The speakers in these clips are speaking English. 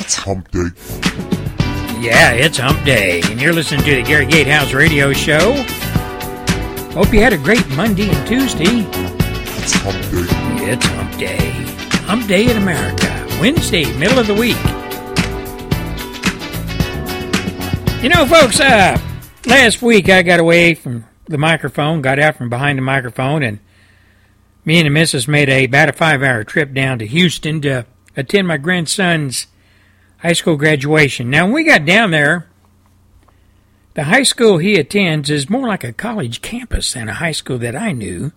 It's hump day. Yeah, it's hump day, and you're listening to the Gary Gatehouse Radio Show. Hope you had a great Monday and Tuesday. It's hump day. It's hump day. Hump day in America. Wednesday, middle of the week. You know, folks, last week I got away from the microphone, got out from behind the microphone, and me and the missus made about a 5-hour trip down to Houston to attend my grandson's high school graduation. Now, when we got down there, the high school he attends is more like a college campus than a high school that I knew.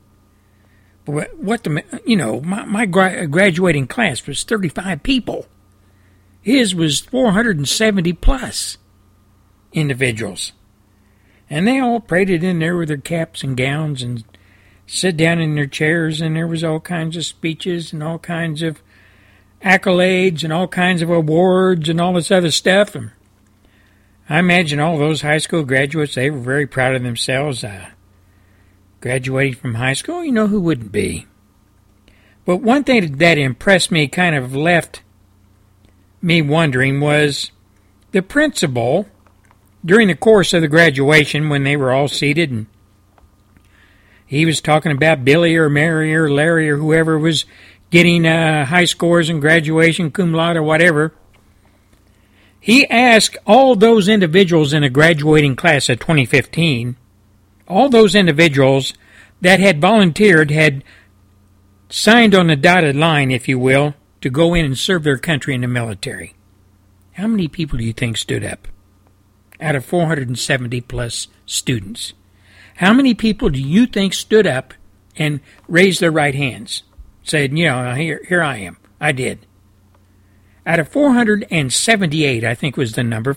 My graduating class was 35 people. His was 470 plus individuals. And they all paraded in there with their caps and gowns and sit down in their chairs, and there was all kinds of speeches and all kinds of accolades and all kinds of awards and all this other stuff. And I imagine all those high school graduates, they were very proud of themselves. Graduating from high school, you know, who wouldn't be? But one thing that impressed me, kind of left me wondering, was the principal, during the course of the graduation, when they were all seated, and he was talking about Billy or Mary or Larry or whoever was getting high scores in graduation, cum laude or whatever, he asked all those individuals in a graduating class of 2015, all those individuals that had volunteered, had signed on the dotted line, if you will, to go in and serve their country in the military. How many people do you think stood up out of 470 plus students? How many people do you think stood up and raised their right hands? Said, you know, here I am. I did. Out of 478, I think was the number,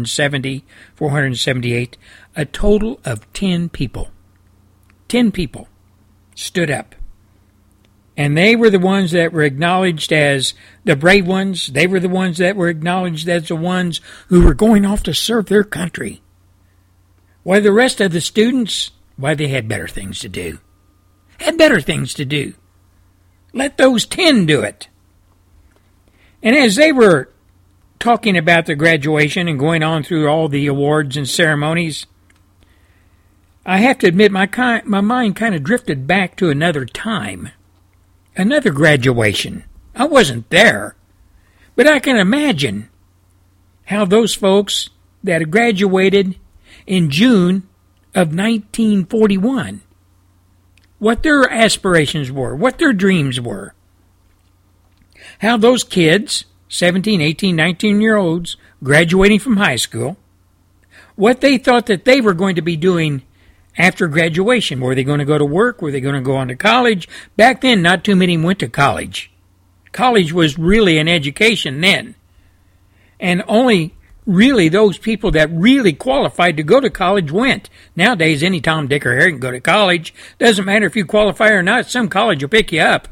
478, a total of 10 people. 10 people stood up. And they were the ones that were acknowledged as the brave ones. They were the ones that were acknowledged as the ones who were going off to serve their country. While the rest of the students, why, they had better things to do. Had better things to do. Let those 10 do it. And as they were talking about the graduation and going on through all the awards and ceremonies, I have to admit my mind kind of drifted back to another time. Another graduation. I wasn't there, but I can imagine how those folks that had graduated in June of 1941, what their aspirations were, what their dreams were. How those kids, 17, 18, 19-year-olds, graduating from high school, what they thought that they were going to be doing after graduation. Were they going to go to work? Were they going to go on to college? Back then, not too many went to college. College was really an education then. And only really those people that really qualified to go to college went. Nowadays, any Tom, Dick, or Harry can go to college. Doesn't matter if you qualify or not. Some college will pick you up.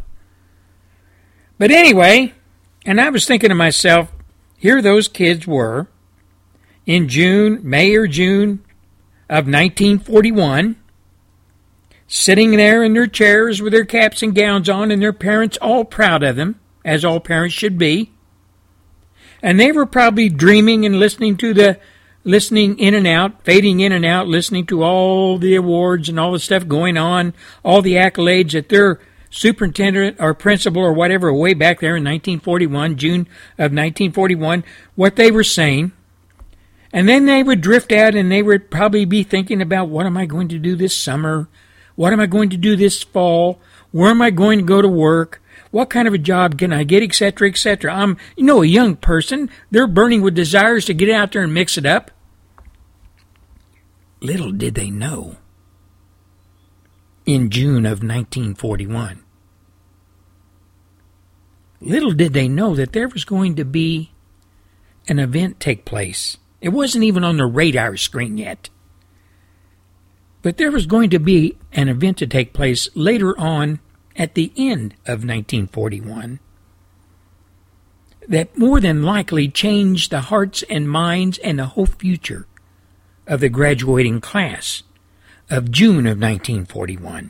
But anyway, and I was thinking to myself, here those kids were in May or June of 1941, sitting there in their chairs with their caps and gowns on, and their parents all proud of them, as all parents should be. And they were probably dreaming and listening in and out, fading in and out, listening to all the awards and all the stuff going on, all the accolades that their superintendent or principal or whatever way back there in 1941, June of 1941, what they were saying. And then they would drift out and they would probably be thinking about, what am I going to do this summer? What am I going to do this fall? Where am I going to go to work? What kind of a job can I get, etc., etc. I'm, a young person. They're burning with desires to get out there and mix it up. Little did they know, in June of 1941, little did they know that there was going to be an event take place. It wasn't even on the radar screen yet. But there was going to be an event to take place later on at the end of 1941 that more than likely changed the hearts and minds and the whole future of the graduating class of June of 1941.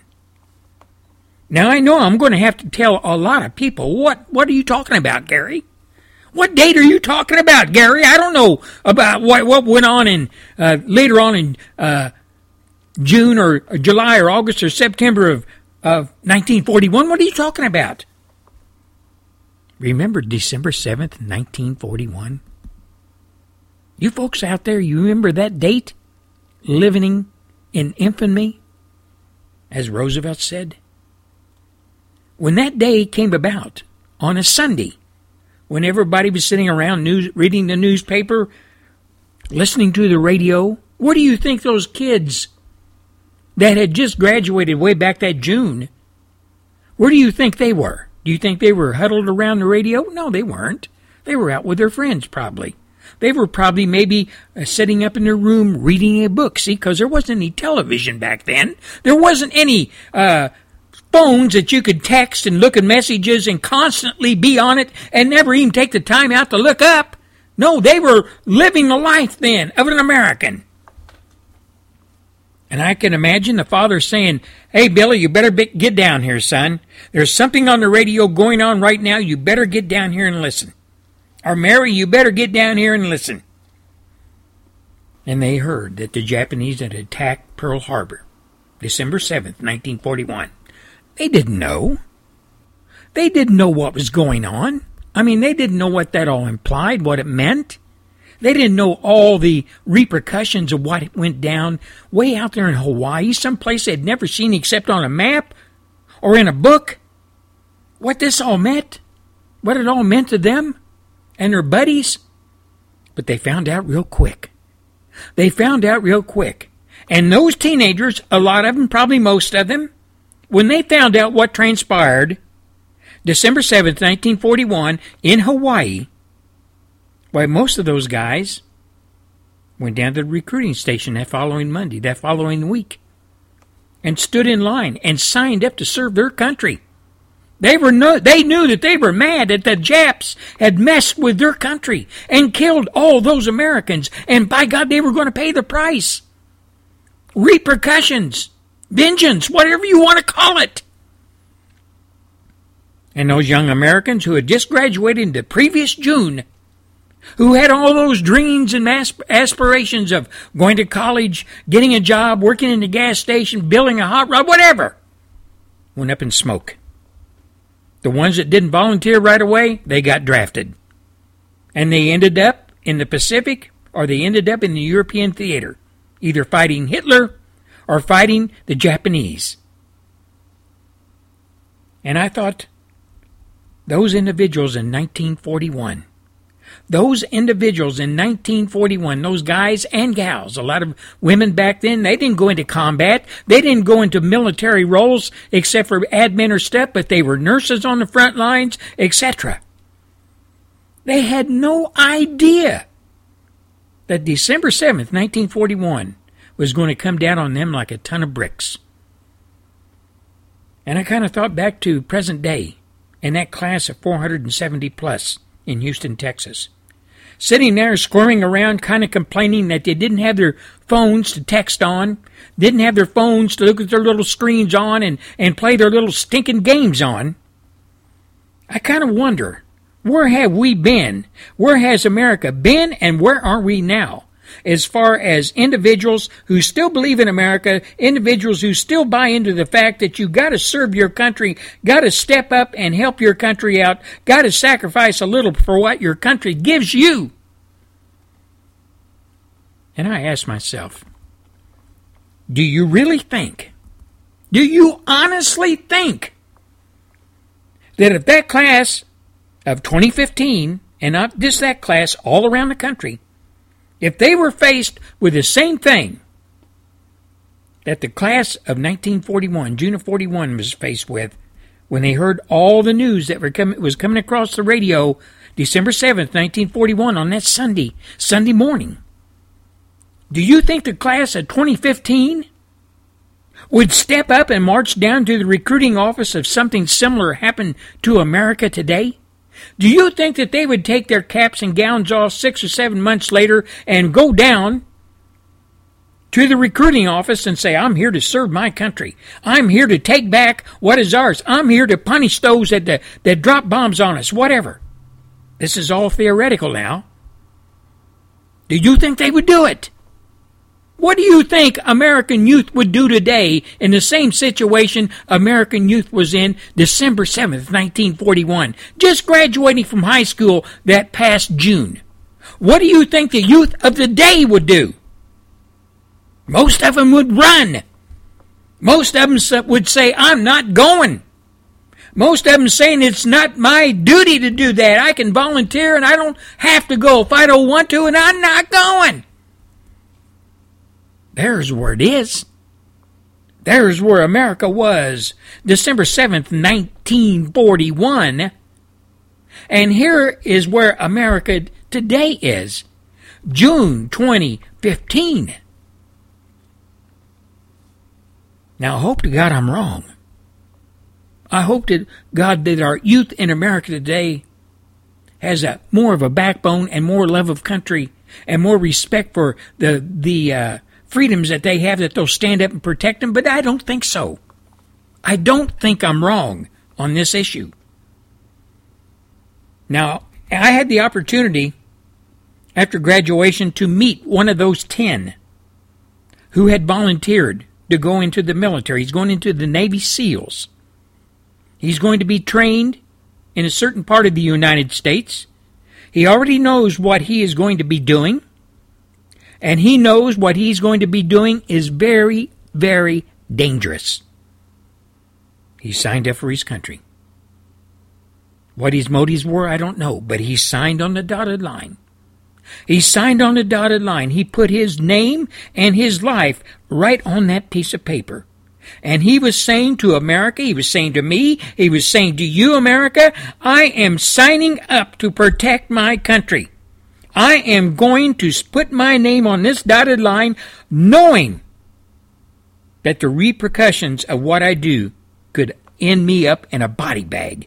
Now, I know I'm going to have to tell a lot of people, what are you talking about, Gary? What date are you talking about, Gary? I don't know about what went on in later on in June or July or August or September of 1941. What are you talking about? Remember December 7th, 1941? You folks out there, you remember that date? Living in infamy, as Roosevelt said? When that day came about, on a Sunday, when everybody was sitting around reading the newspaper, listening to the radio, where do you think those kids that had just graduated way back that June, where do you think they were? Do you think they were huddled around the radio? No, they weren't. They were out with their friends, probably. They were probably maybe sitting up in their room reading a book. See, because there wasn't any television back then. There wasn't any phones that you could text and look at messages and constantly be on it and never even take the time out to look up. No, they were living the life then of an American. And I can imagine the father saying, "Hey, Billy, you better get down here, son. There's something on the radio going on right now. You better get down here and listen. Or Mary, you better get down here and listen." And they heard that the Japanese had attacked Pearl Harbor, December 7th, 1941. They didn't know. They didn't know what was going on. I mean, they didn't know what that all implied, what it meant. They didn't know all the repercussions of what went down way out there in Hawaii, someplace they'd never seen except on a map or in a book. What this all meant, what it all meant to them and their buddies. But they found out real quick. They found out real quick. And those teenagers, a lot of them, probably most of them, when they found out what transpired December 7th, 1941, in Hawaii, why, most of those guys went down to the recruiting station that following Monday, that following week, and stood in line and signed up to serve their country. They knew that they were mad that the Japs had messed with their country and killed all those Americans, and by God, they were going to pay the price. Repercussions, vengeance, whatever you want to call it. And those young Americans who had just graduated in the previous June, who had all those dreams and aspirations of going to college, getting a job, working in the gas station, building a hot rod, whatever, went up in smoke. The ones that didn't volunteer right away, they got drafted. And they ended up in the Pacific, or they ended up in the European theater, either fighting Hitler or fighting the Japanese. And I thought, those individuals in 1941, those guys and gals, a lot of women back then, they didn't go into combat. They didn't go into military roles except for admin or stuff, but they were nurses on the front lines, etc. They had no idea that December 7th, 1941 was going to come down on them like a ton of bricks. And I kind of thought back to present day and that class of 470 plus in Houston, Texas, sitting there squirming around, kind of complaining that they didn't have their phones to text on, didn't have their phones to look at their little screens on and play their little stinking games on. I kind of wonder, where have we been? Where has America been, and where are we now? As far as individuals who still believe in America, individuals who still buy into the fact that you got to serve your country, got to step up and help your country out, got to sacrifice a little for what your country gives you. And I ask myself, do you really think, do you honestly think that if that class of 2015, and not just that class, all around the country, if they were faced with the same thing that the class of 1941, June of 41, was faced with, when they heard all the news that was coming across the radio December 7th, 1941, on that Sunday morning, do you think the class of 2015 would step up and march down to the recruiting office if something similar happened to America today? Do you think that they would take their caps and gowns off 6 or 7 months later and go down to the recruiting office and say, I'm here to serve my country. I'm here to take back what is ours. I'm here to punish those that drop bombs on us, whatever. This is all theoretical now. Do you think they would do it? What do you think American youth would do today in the same situation American youth was in December 7th, 1941, just graduating from high school that past June? What do you think the youth of the day would do? Most of them would run. Most of them would say, I'm not going. Most of them saying it's not my duty to do that. I can volunteer and I don't have to go if I don't want to, and I'm not going. There's where it is. There's where America was December 7th, 1941. And here is where America today is, June 2015. Now, I hope to God I'm wrong. I hope to God that our youth in America today has more of a backbone and more love of country and more respect for the freedoms that they have, that they'll stand up and protect them, but I don't think so. I don't think I'm wrong on this issue. Now, I had the opportunity after graduation to meet one of those 10 who had volunteered to go into the military. He's going into the Navy SEALs. He's going to be trained in a certain part of the United States. He already knows what he is going to be doing. And he knows what he's going to be doing is very, very dangerous. He signed up for his country. What his motives were, I don't know, but he signed on the dotted line. He signed on the dotted line. He put his name and his life right on that piece of paper. And he was saying to America, he was saying to me, he was saying to you, America, I am signing up to protect my country. I am going to put my name on this dotted line, knowing that the repercussions of what I do could end me up in a body bag.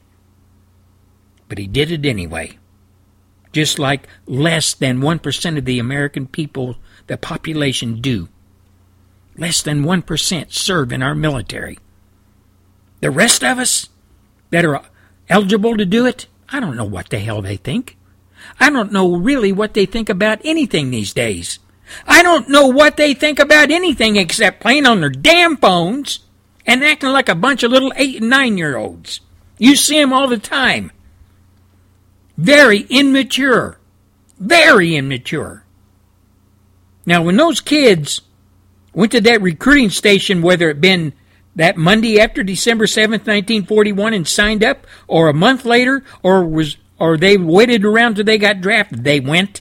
But he did it anyway. Just like less than 1% of the American people, the population, do. Less than 1% serve in our military. The rest of us that are eligible to do it, I don't know what the hell they think. I don't know really what they think about anything these days. I don't know what they think about anything except playing on their damn phones and acting like a bunch of little 8- and 9-year-olds. You see them all the time. Very immature. Very immature. Now, when those kids went to that recruiting station, whether it been that Monday after December 7th, 1941 and signed up, or a month later, or they waited around till they got drafted, they went.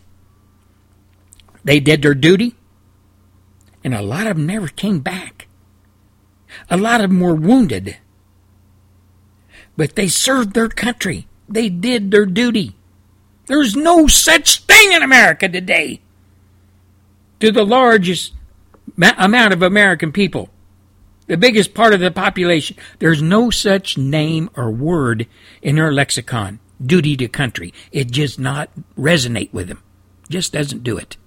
They did their duty. And a lot of them never came back. A lot of them were wounded. But they served their country. They did their duty. There's no such thing in America today. To the largest amount of American people, the biggest part of the population, there's no such name or word in their lexicon. Duty to country. It just not resonate with them. Just doesn't do it.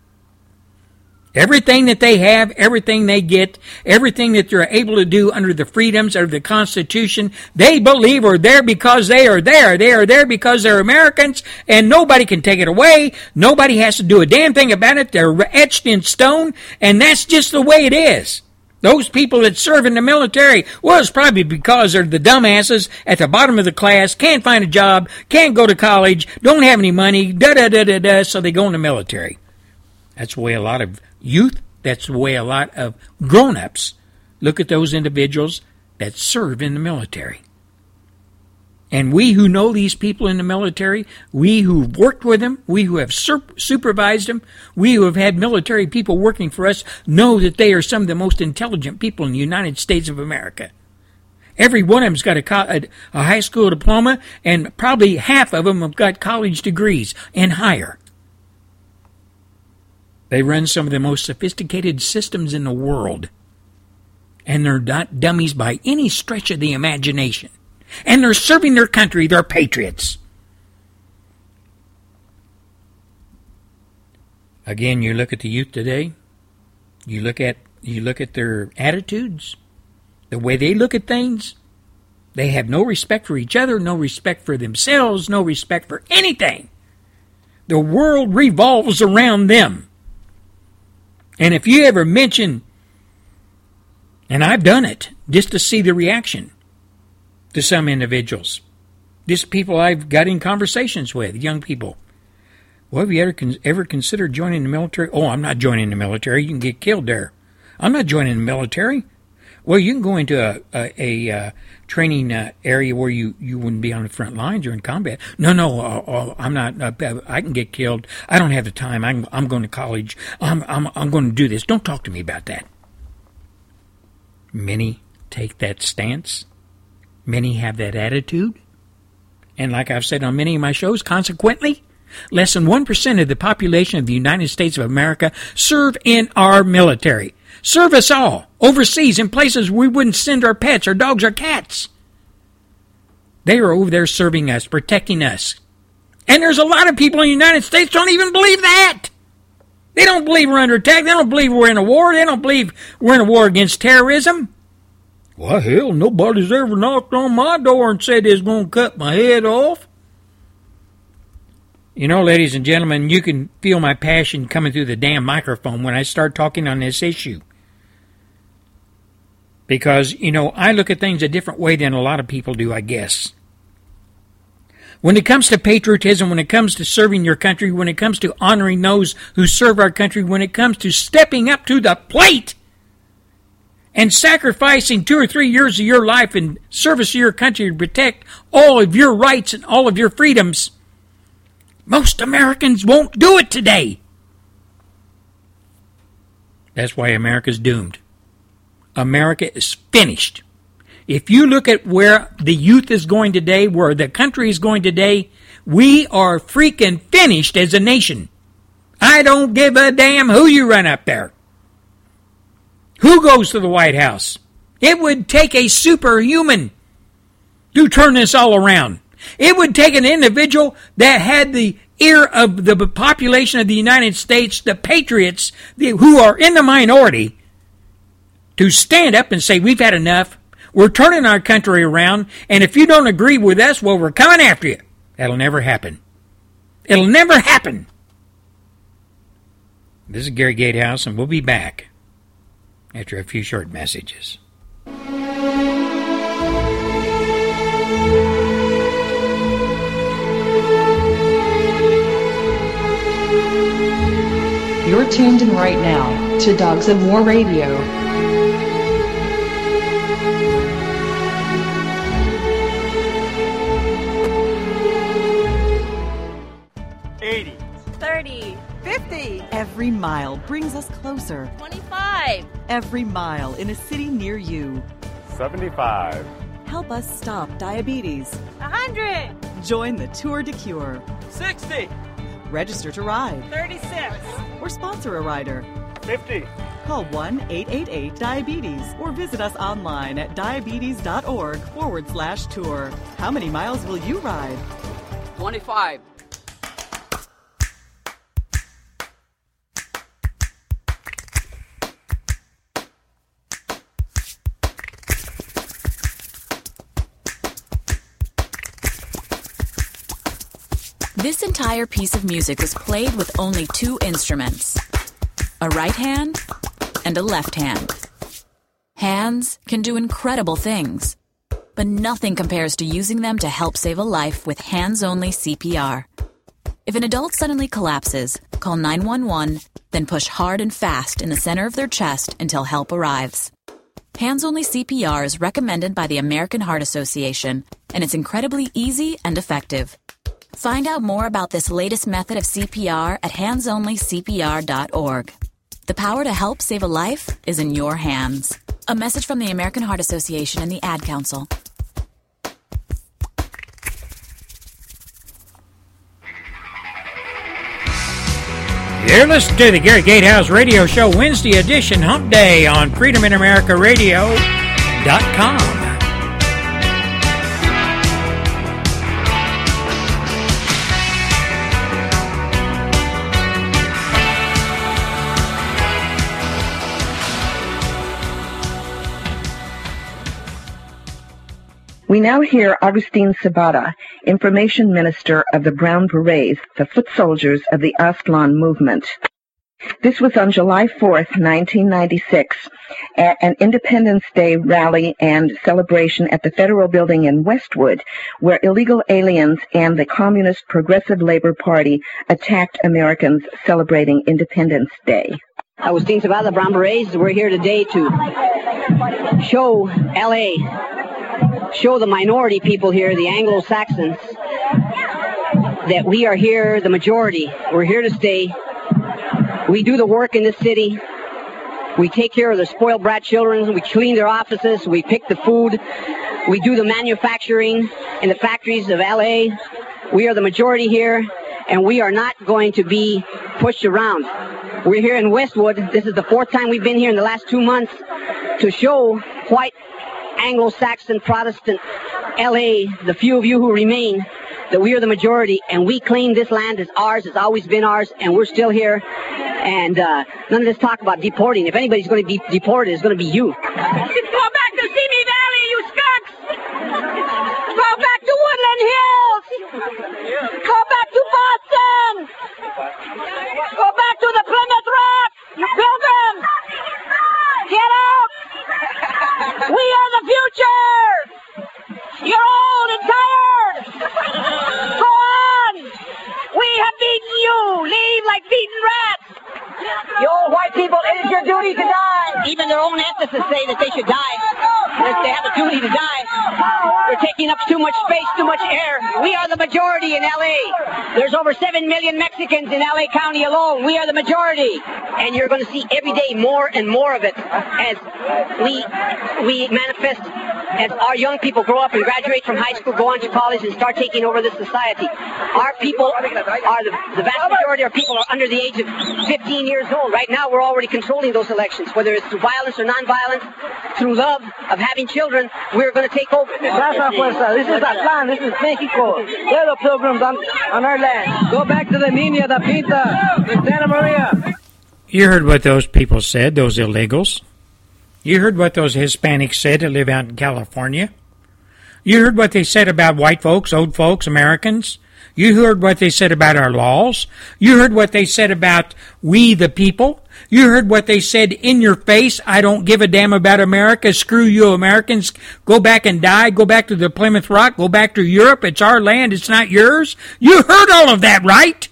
Everything that they have, everything they get, everything that they're able to do under the freedoms of the Constitution, they believe are there because they are there. They are there because they're Americans, and nobody can take it away. Nobody has to do a damn thing about it. They're etched in stone, and that's just the way it is. Those people that serve in the military, well, it's probably because they're the dumbasses at the bottom of the class, can't find a job, can't go to college, don't have any money, so they go in the military. That's the way a lot of youth, that's the way a lot of grown-ups look at those individuals that serve in the military. And we who know these people in the military, we who've worked with them, we who have supervised them, we who have had military people working for us, know that they are some of the most intelligent people in the United States of America. Every one of them's got a high school diploma, and probably half of them have got college degrees and higher. They run some of the most sophisticated systems in the world. And they're not dummies by any stretch of the imagination. And they're serving their country. They're patriots. Again, you look at the youth today. You look at their attitudes, the way they look at things. They have no respect for each other, no respect for themselves, no respect for anything. The world revolves around them. And if you ever mention, and I've done it, just to see the reaction to some individuals, just people I've got in conversations with, young people. Well, have you ever considered joining the military? Oh, I'm not joining the military. You can get killed there. I'm not joining the military. Well, you can go into a training area where you wouldn't be on the front lines or in combat. No, I'm not. I can get killed. I don't have the time. I'm going to college. I'm going to do this. Don't talk to me about that. Many take that stance. Many have that attitude. And like I've said on many of my shows, consequently, less than 1% of the population of the United States of America serve in our military. Serve us all, overseas, in places we wouldn't send our pets, our dogs, our cats. They are over there serving us, protecting us. And there's a lot of people in the United States don't even believe that. They don't believe we're under attack. They don't believe we're in a war. They don't believe we're in a war against terrorism. Well, hell, nobody's ever knocked on my door and said they're going to cut my head off. You know, ladies and gentlemen, you can feel my passion coming through the damn microphone when I start talking on this issue. Because, you know, I look at things a different way than a lot of people do, I guess. When it comes to patriotism, when it comes to serving your country, when it comes to honoring those who serve our country, when it comes to stepping up to the plate and sacrificing 2 or 3 years of your life in service to your country to protect all of your rights and all of your freedoms, most Americans won't do it today. That's why America's doomed. America is finished. If you look at where the youth is going today, where the country is going today, we are freaking finished as a nation. I don't give a damn who you run up there. Who goes to the White House? It would take a superhuman to turn this all around. It would take an individual that had the ear of the population of the United States, the patriots, who are in the minority, to stand up and say, we've had enough, we're turning our country around, and if you don't agree with us, well, we're coming after you. That'll never happen. It'll never happen. This is Gary Gatehouse, and we'll be back after a few short messages. You're tuned in right now to Dogs of War Radio. 80, 30, 50. Every mile brings us closer. 25. Every mile in a city near you. 75. Help us stop diabetes. 100. Join the Tour de Cure. 60. Register to ride. 36. Or sponsor a rider. 50. Call 1-888-DIABETES or visit us online at diabetes.org/tour. How many miles will you ride? 25. This entire piece of music was played with only 2 instruments, a right hand and a left hand. Hands can do incredible things, but nothing compares to using them to help save a life with hands-only CPR. If an adult suddenly collapses, call 911, then push hard and fast in the center of their chest until help arrives. Hands-only CPR is recommended by the American Heart Association, and it's incredibly easy and effective. Find out more about this latest method of CPR at handsonlycpr.org. The power to help save a life is in your hands. A message from the American Heart Association and the Ad Council. You're listening to the Gary Gatehouse Radio Show, Wednesday edition, Hump Day on FreedomInAmericaRadio.com. We now hear Augustine Sabata, Information Minister of the Brown Berets, the foot soldiers of the Aztlán movement. This was on July 4th, 1996, at an Independence Day rally and celebration at the Federal Building in Westwood, where illegal aliens and the Communist Progressive Labor Party attacked Americans celebrating Independence Day. Agustin Sabata, the Brown Berets. We're here today to show L.A., show the minority people here, the Anglo-Saxons, that we are here, the majority. We're here to stay. We do the work in this city. We take care of the spoiled brat children. We clean their offices. We pick the food. We do the manufacturing in the factories of L.A. We are the majority here, and we are not going to be pushed around. We're here in Westwood. This is the fourth time we've been here in the last 2 months to show white Anglo-Saxon Protestant L.A., the few of you who remain, that we are the majority, and we claim this land as ours. It's always been ours, and we're still here. And none of this talk about deporting. If anybody's going to be deported, it's going to be you. Go back to Simi Valley, you skunks! Go back to Woodland Hills! Go back to Boston! Go back to the Plymouth Rock, you pilgrims! Get out! We are the future! You're old and tired! Go on! We have beaten you! Leave like beaten rats! You old white people, it is your duty to die. Even their own ethicists say that they should die. That they have a duty to die. They're taking up too much space, too much air. We are the majority in L.A. There's over 7 million Mexicans in L.A. County alone. We are the majority. And you're going to see every day more and more of it as we manifest, as our young people grow up and graduate from high school, go on to college, and start taking over this society. Our people are the vast majority of our people are under the age of 15 years old. Right now, we're already controlling those elections, whether it's through violence or non-violence, through love of having children. We're going to take over. That's our fuerza. This is Aztlán. This is Mexico. They're the pilgrims on our land. Go back to the Nina, the Pinta, the Santa Maria. You heard what those people said, those illegals. You heard what those Hispanics said that live out in California. You heard what they said about white folks, old folks, Americans. You heard what they said about our laws. You heard what they said about we the people. You heard what they said in your face. I don't give a damn about America. Screw you Americans. Go back and die. Go back to the Plymouth Rock. Go back to Europe. It's our land. It's not yours. You heard all of that, right?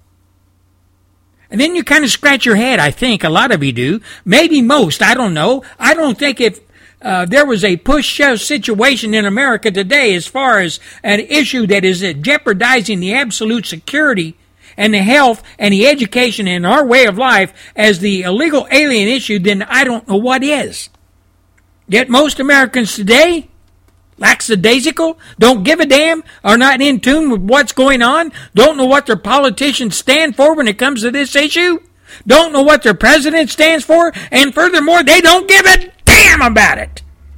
And then you kind of scratch your head, I think. A lot of you do. Maybe most. I don't know. I don't think if there was a push-shove situation in America today as far as an issue that is jeopardizing the absolute security and the health and the education and our way of life as the illegal alien issue, then I don't know what is. Yet most Americans today, lackadaisical, don't give a damn, are not in tune with what's going on, don't know what their politicians stand for when it comes to this issue, don't know what their president stands for, and furthermore, they don't give a damn about it.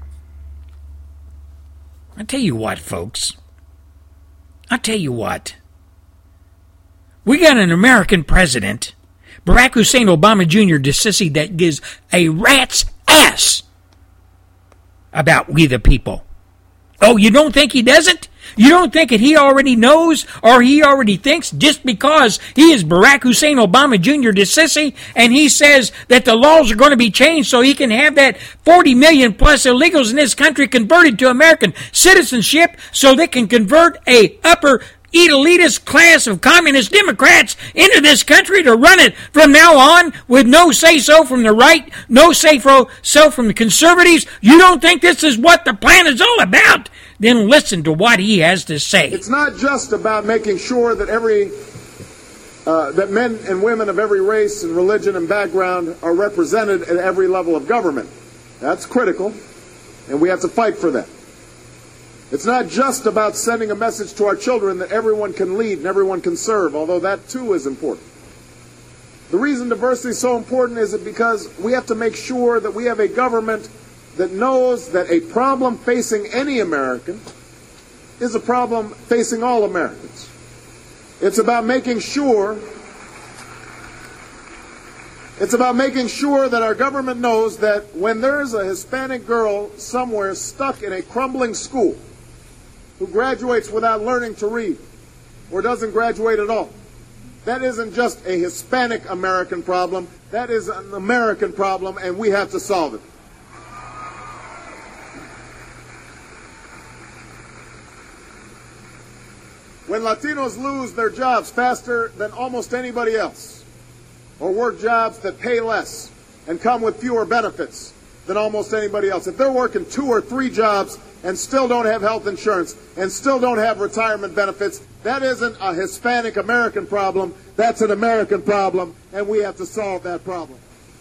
I tell you what, folks. I tell you what. We got an American president, Barack Hussein Obama Jr., the sissy that gives a rat's ass about we the people. Oh, you don't think he doesn't? You don't think that he already knows or he already thinks just because he is Barack Hussein Obama Jr. the sissy and he says that the laws are going to be changed so he can have that 40 million plus illegals in this country converted to American citizenship so they can convert a upper elitist class of communist Democrats into this country to run it from now on with no say-so from the right, no say-so from the conservatives. You don't think this is what the plan is all about? Then listen to what he has to say. It's not just about making sure that that men and women of every race and religion and background are represented at every level of government. That's critical, and we have to fight for that. It's not just about sending a message to our children that everyone can lead and everyone can serve, although that too is important. The reason diversity is so important is because we have to make sure that we have a government that knows that a problem facing any American is a problem facing all Americans. It's about making sure that our government knows that when there's a Hispanic girl somewhere stuck in a crumbling school, who graduates without learning to read or doesn't graduate at all. That isn't just a Hispanic American problem. That is an American problem, and we have to solve it. When Latinos lose their jobs faster than almost anybody else, or work jobs that pay less and come with fewer benefits than almost anybody else, if they're working 2 or 3 jobs and still don't have health insurance and still don't have retirement benefits, that isn't a Hispanic American problem. That's an American problem, and we have to solve that problem.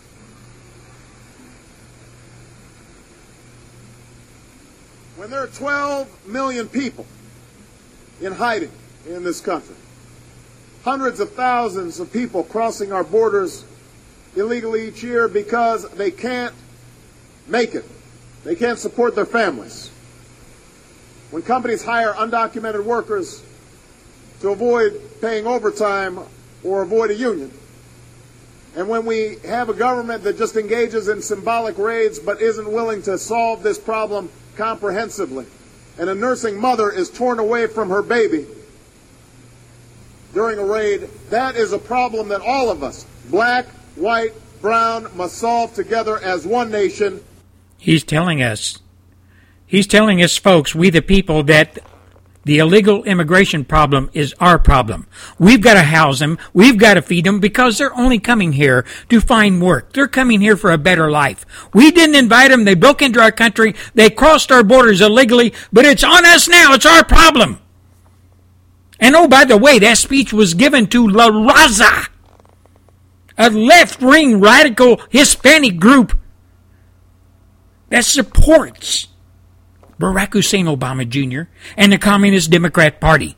When there are 12 million people in hiding in this country, hundreds of thousands of people crossing our borders illegally each year because they can't make it. They can't support their families. When companies hire undocumented workers to avoid paying overtime or avoid a union, and when we have a government that just engages in symbolic raids but isn't willing to solve this problem comprehensively, and a nursing mother is torn away from her baby during a raid, that is a problem that all of us, black, white, brown, must solve together as one nation. He's telling us, folks, we the people, that the illegal immigration problem is our problem. We've got to house them. We've got to feed them because they're only coming here to find work. They're coming here for a better life. We didn't invite them. They broke into our country. They crossed our borders illegally, but it's on us now. It's our problem. And oh, by the way, that speech was given to La Raza, a left-wing radical Hispanic group that supports Barack Hussein Obama Jr. and the Communist Democrat Party.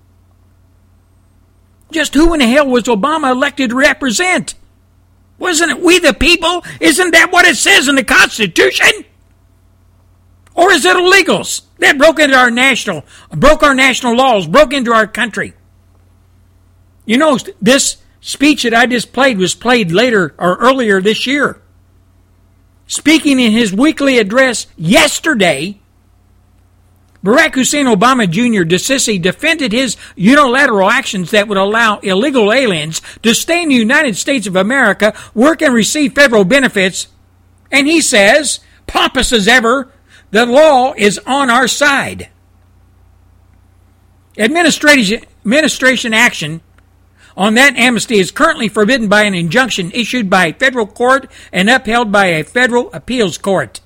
Just who in the hell was Obama elected to represent? Wasn't it we the people? Isn't that what it says in the Constitution? Or is it illegals that broke our national laws, broke into our country? You know, this speech that I just played was played later or earlier this year. Speaking in his weekly address yesterday, Barack Hussein Obama Jr. defended his unilateral actions that would allow illegal aliens to stay in the United States of America, work and receive federal benefits. And he says, pompous as ever, the law is on our side. Administration action on that amnesty is currently forbidden by an injunction issued by a federal court and upheld by a federal appeals court.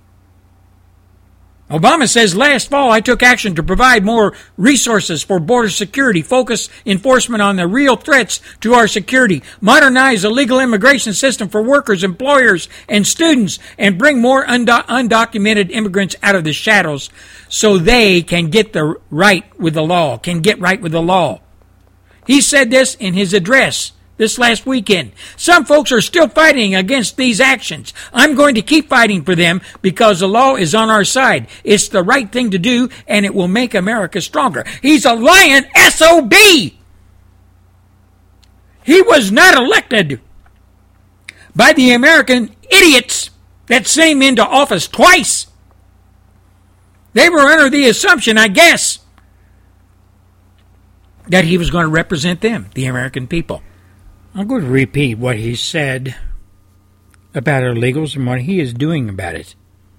Obama says, last fall I took action to provide more resources for border security, focus enforcement on the real threats to our security, modernize the legal immigration system for workers, employers, and students, and bring more undocumented immigrants out of the shadows so they can get right with the law. He said this in his address this last weekend. Some folks are still fighting against these actions. I'm going to keep fighting for them because the law is on our side. It's the right thing to do, and it will make America stronger. He's a lying SOB. He was not elected by the American idiots that sent him into office twice. They were under the assumption, I guess, that he was going to represent them, the American people. I'm going to repeat what he said about illegals and what he is doing about it.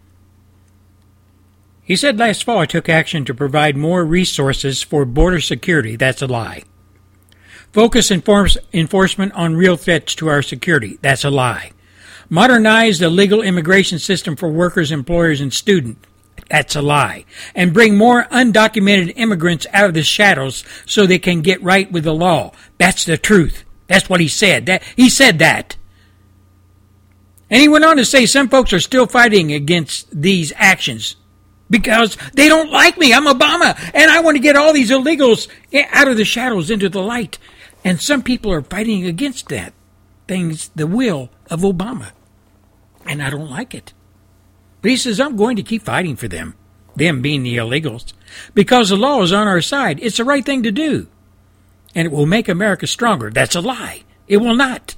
He said, last fall I took action to provide more resources for border security. That's a lie. Focus enforcement on real threats to our security. That's a lie. Modernize the legal immigration system for workers, employers, and students. That's a lie. And bring more undocumented immigrants out of the shadows so they can get right with the law. That's the truth. That's what he said. He said that. And he went on to say some folks are still fighting against these actions because they don't like me. I'm Obama, and I want to get all these illegals out of the shadows into the light. And some people are fighting against that. The will of Obama. And I don't like it. But he says, I'm going to keep fighting for them being the illegals, because the law is on our side. It's the right thing to do. And it will make America stronger. That's a lie. It will not.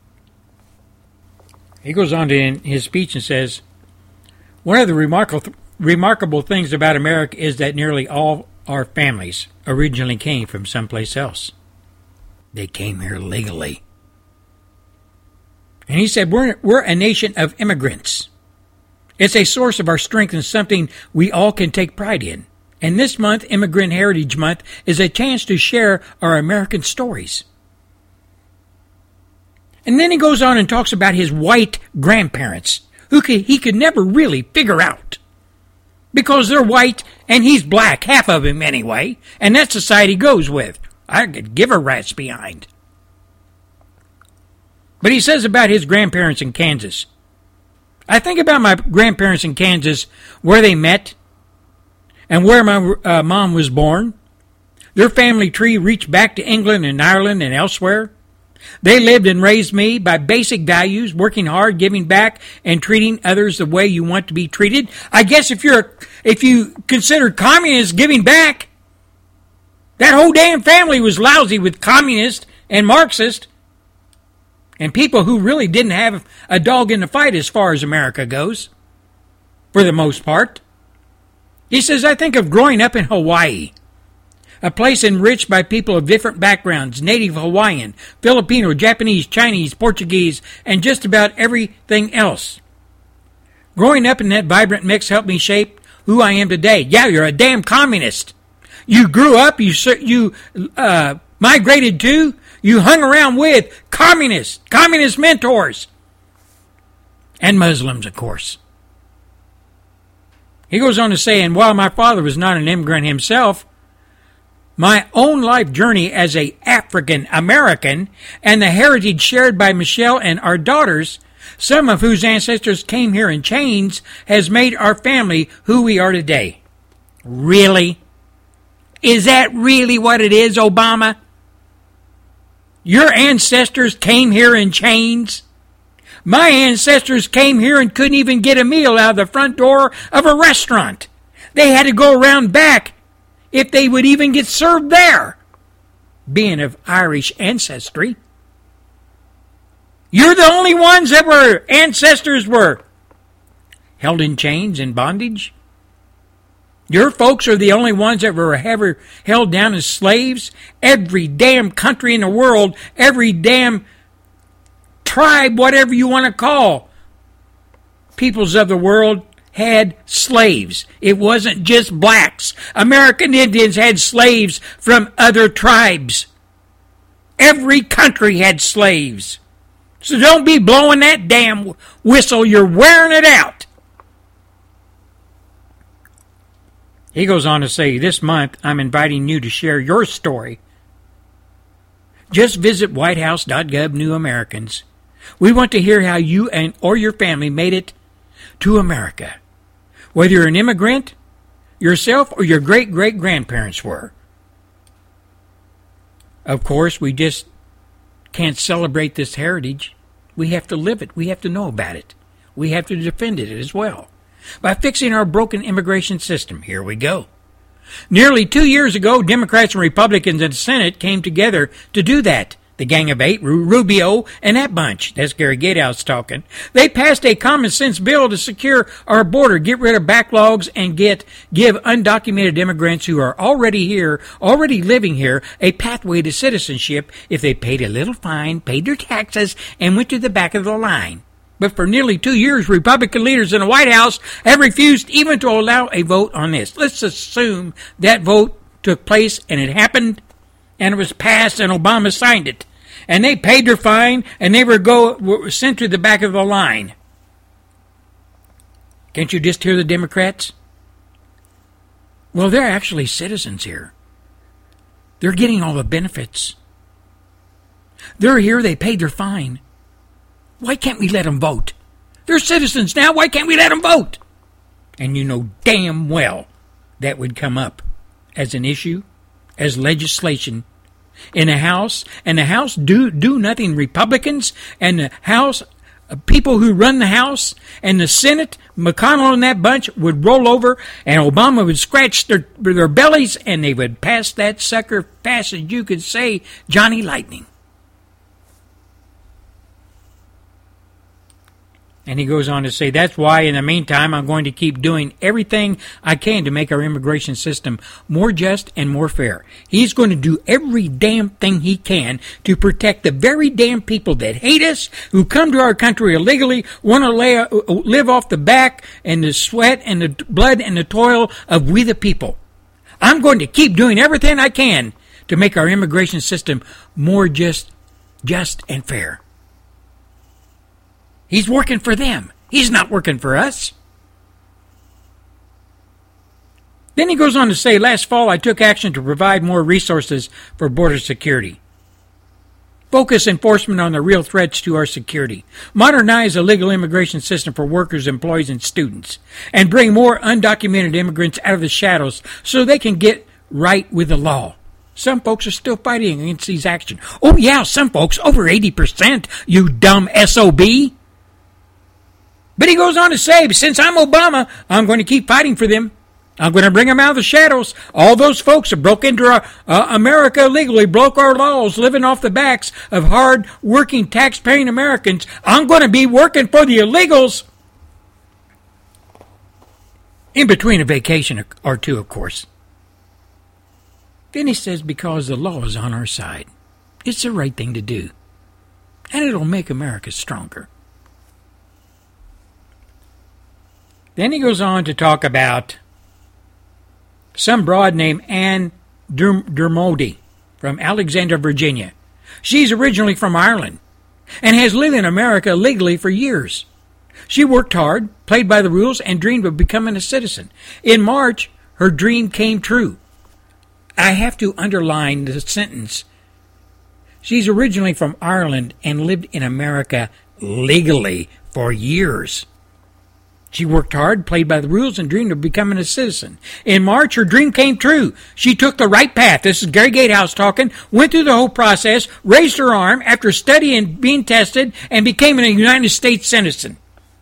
He goes on to in his speech and says, one of the remarkable things about America is that nearly all our families originally came from someplace else. They came here legally. And he said, we're a nation of immigrants. It's a source of our strength and something we all can take pride in. And this month, Immigrant Heritage Month, is a chance to share our American stories. And then he goes on and talks about his white grandparents, who he could never really figure out. Because they're white and he's black, half of him anyway, and that society goes with. I could give a rat's behind. But he says about his grandparents in Kansas. I think about my grandparents in Kansas, where they met, and where my mom was born. Their family tree reached back to England and Ireland and elsewhere. They lived and raised me by basic values, working hard, giving back, and treating others the way you want to be treated. I guess if you consider communists giving back, that whole damn family was lousy with communists and Marxists and people who really didn't have a dog in the fight as far as America goes, for the most part. He says, I think of growing up in Hawaii, a place enriched by people of different backgrounds, Native Hawaiian, Filipino, Japanese, Chinese, Portuguese, and just about everything else. Growing up in that vibrant mix helped me shape who I am today. Yeah, you're a damn communist. You grew up, you migrated to, you hung around with communist mentors, and Muslims, of course. He goes on to say, and while my father was not an immigrant himself, my own life journey as a African American and the heritage shared by Michelle and our daughters, some of whose ancestors came here in chains, has made our family who we are today. Really? Is that really what it is, Obama? Your ancestors came here in chains? My ancestors came here and couldn't even get a meal out of the front door of a restaurant. They had to go around back if they would even get served there, being of Irish ancestry. You're the only ones that were ancestors were held in chains and bondage? Your folks are the only ones that were ever held down as slaves? Every damn country in the world, every damn tribe, whatever you want to call peoples of the world, had slaves. It wasn't just blacks. American Indians had slaves from other tribes. Every country had slaves. So don't be blowing that damn whistle. You're wearing it out. He goes on to say, this month I'm inviting you to share your story. Just visit whitehouse.gov New Americans. We want to hear how you or your family made it to America. Whether you're an immigrant yourself or your great-great-grandparents were. Of course, we just can't celebrate this heritage. We have to live it. We have to know about it. We have to defend it as well. By fixing our broken immigration system. Here we go. Nearly 2 years ago, Democrats and Republicans in the Senate came together to do that. The Gang of Eight, Rubio, and that bunch. That's Gary Gatehouse talking. They passed a common-sense bill to secure our border, get rid of backlogs, and give undocumented immigrants who are already here, already living here, a pathway to citizenship if they paid a little fine, paid their taxes, and went to the back of the line. But for nearly 2 years, Republican leaders in the White House have refused even to allow a vote on this. Let's assume that vote took place and it happened, and it was passed, and Obama signed it. And they paid their fine, and they were sent to the back of the line. Can't you just hear the Democrats? Well, they're actually citizens here. They're getting all the benefits. They're here, they paid their fine. Why can't we let them vote? They're citizens now, why can't we let them vote? And you know damn well that would come up as an issue, as legislation in the House, and the House do nothing. Republicans and the House, people who run the House, and the Senate, McConnell and that bunch would roll over, and Obama would scratch their bellies, and they would pass that sucker fast as you could say Johnny Lightning. And he goes on to say, that's why in the meantime I'm going to keep doing everything I can to make our immigration system more just and more fair. He's going to do every damn thing he can to protect the very damn people that hate us, who come to our country illegally, want to live off the back and the sweat and the blood and the toil of we the people. I'm going to keep doing everything I can to make our immigration system more just and fair. He's working for them. He's not working for us. Then he goes on to say, last fall I took action to provide more resources for border security. Focus enforcement on the real threats to our security. Modernize the legal immigration system for workers, employees, and students. And bring more undocumented immigrants out of the shadows so they can get right with the law. Some folks are still fighting against these actions. Oh yeah, some folks, over 80%, you dumb SOB. But he goes on to say, since I'm Obama, I'm going to keep fighting for them. I'm going to bring them out of the shadows. All those folks who broke into America illegally, broke our laws, living off the backs of hard-working, tax-paying Americans. I'm going to be working for the illegals. In between a vacation or two, of course. Then he says, because the law is on our side. It's the right thing to do. And it'll make America stronger. Then he goes on to talk about some broad named Anne Dermody from Alexandria, Virginia. She's originally from Ireland and has lived in America legally for years. She worked hard, played by the rules, and dreamed of becoming a citizen. In March, her dream came true. I have to underline the sentence. She's originally from Ireland and lived in America legally for years. She worked hard, played by the rules, and dreamed of becoming a citizen. In March, her dream came true. She took the right path. This is Gary Gatehouse talking. Went through the whole process, raised her arm after studying, being tested, and became a United States citizen.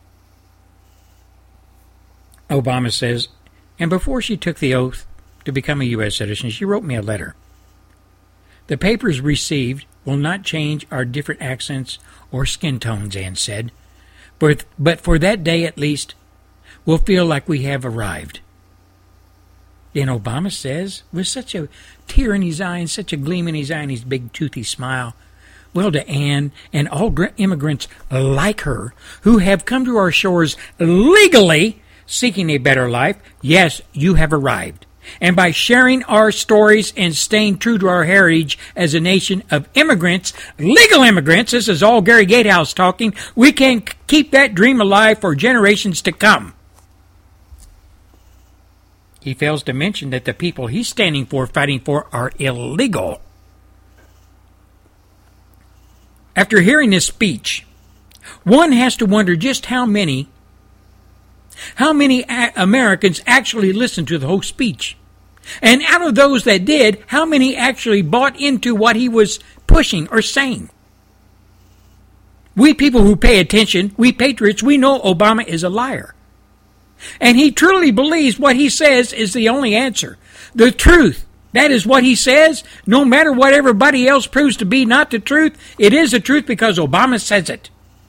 Obama says, and before she took the oath to become a U.S. citizen, she wrote me a letter. The papers received will not change our different accents or skin tones, Anne said. But for that day at least, we'll feel like we have arrived. Then Obama says, with such a tear in his eye and such a gleam in his eye and his big toothy smile, well, to Anne and all immigrants like her who have come to our shores legally seeking a better life, yes, you have arrived. And by sharing our stories and staying true to our heritage as a nation of immigrants, legal immigrants, this is all Gary Gatehouse talking, we can keep that dream alive for generations to come. He fails to mention that the people he's standing for, fighting for, are illegal. After hearing this speech, one has to wonder just how many Americans actually listened to the whole speech. And out of those that did, how many actually bought into what he was pushing or saying? We people who pay attention, we patriots, we know Obama is a liar. And he truly believes what he says is the only answer. The truth. That is what he says. No matter what everybody else proves to be not the truth, it is the truth because Obama says it.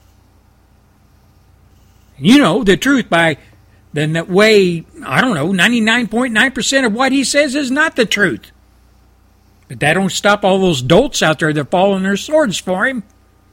You know the truth by the way, 99.9% of what he says is not the truth. But that don't stop all those dolts out there that fall on their swords for him.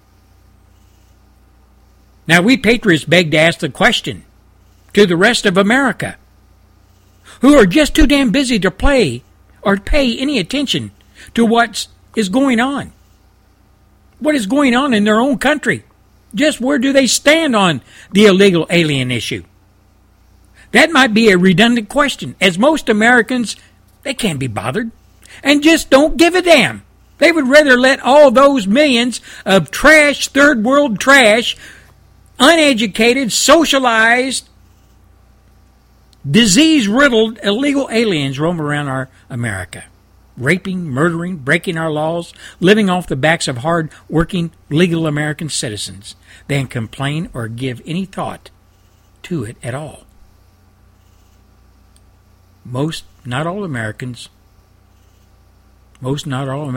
Now we patriots beg to ask the question to the rest of America, who are just too damn busy to play or pay any attention to what is going on. What is going on in their own country? Just where do they stand on the illegal alien issue? That might be a redundant question, as most Americans, they can't be bothered and just don't give a damn. They would rather let all those millions of trash, third world trash, uneducated, socialized, disease-riddled illegal aliens roam around our America, raping, murdering, breaking our laws, living off the backs of hard-working legal American citizens, than complain or give any thought to it at all. Most, not all Americans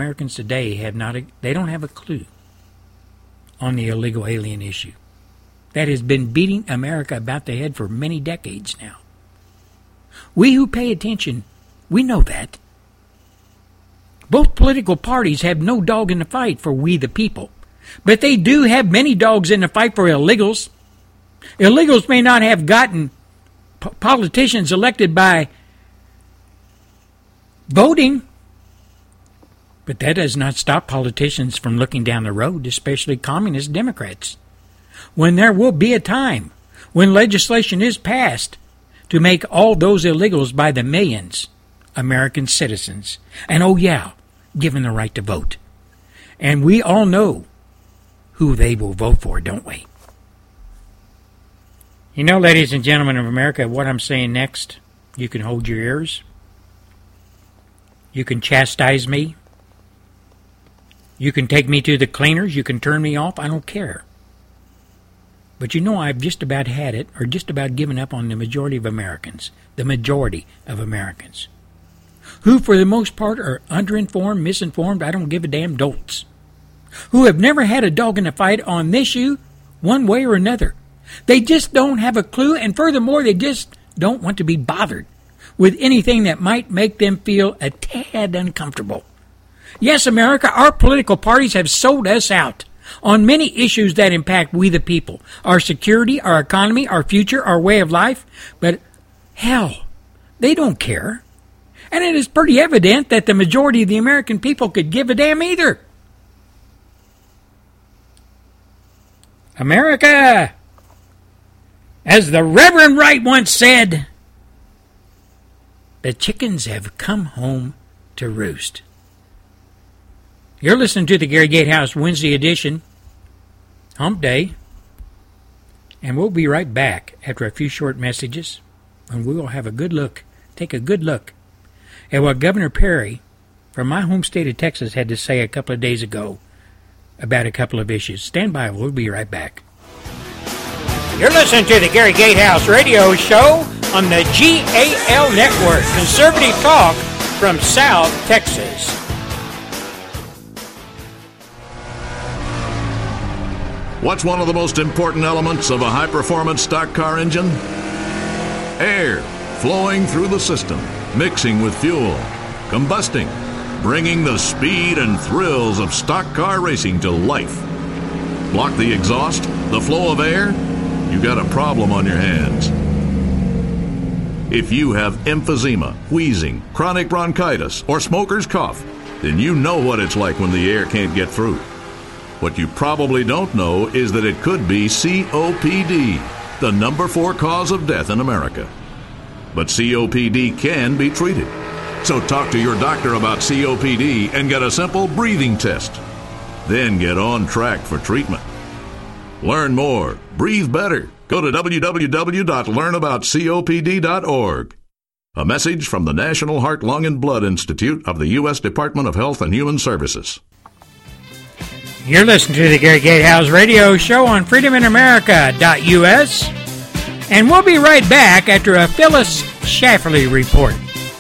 today they don't have a clue on the illegal alien issue. that has been beating America about the head for many decades now. We who pay attention, we know that. Both political parties have no dog in the fight for we the people, but they do have many dogs in the fight for illegals. Illegals may not have gotten politicians elected by voting, but that does not stop politicians from looking down the road, especially communist Democrats, when there will be a time when legislation is passed to make all those illegals by the millions American citizens. And oh yeah, given the right to vote. And we all know who they will vote for, don't we? You know, ladies and gentlemen of America, what I'm saying next, you can hold your ears. You can chastise me. You can take me to the cleaners. You can turn me off. I don't care. But you know, I've just about had it, or just about given up on the majority of Americans. The majority of Americans. Who, for the most part, are underinformed, misinformed, I don't give a damn dolts. Who have never had a dog in the fight on this issue, one way or another. They just don't have a clue, and furthermore, they just don't want to be bothered with anything that might make them feel a tad uncomfortable. Yes, America, our political parties have sold us out on many issues that impact we the people, our security, our economy, our future, our way of life, but hell, they don't care. And it is pretty evident that the majority of the American people could give a damn either. America, as the Reverend Wright once said, the chickens have come home to roost. You're listening to the Gary Gatehouse Wednesday edition, Hump Day, and we'll be right back after a few short messages, and we will have a good look, take a good look at what Governor Perry from my home state of Texas had to say a couple of days ago about a couple of issues. Stand by, we'll be right back. You're listening to the Gary Gatehouse radio show on the GAL Network, conservative talk from South Texas. What's one of the most important elements of a high-performance stock car engine? Air flowing through the system, mixing with fuel, combusting, bringing the speed and thrills of stock car racing to life. Block the exhaust, the flow of air, you got a problem on your hands. If you have emphysema, wheezing, chronic bronchitis, or smoker's cough, then you know what it's like when the air can't get through. What you probably don't know is that it could be COPD, the number 4 cause of death in America. But COPD can be treated. So talk to your doctor about COPD and get a simple breathing test. Then get on track for treatment. Learn more. Breathe better. Go to www.learnaboutcopd.org. A message from the National Heart, Lung, and Blood Institute of the U.S. Department of Health and Human Services. You're listening to the Gary Gatehouse radio show on freedominamerica.us, and we'll be right back after a Phyllis Schlafly report.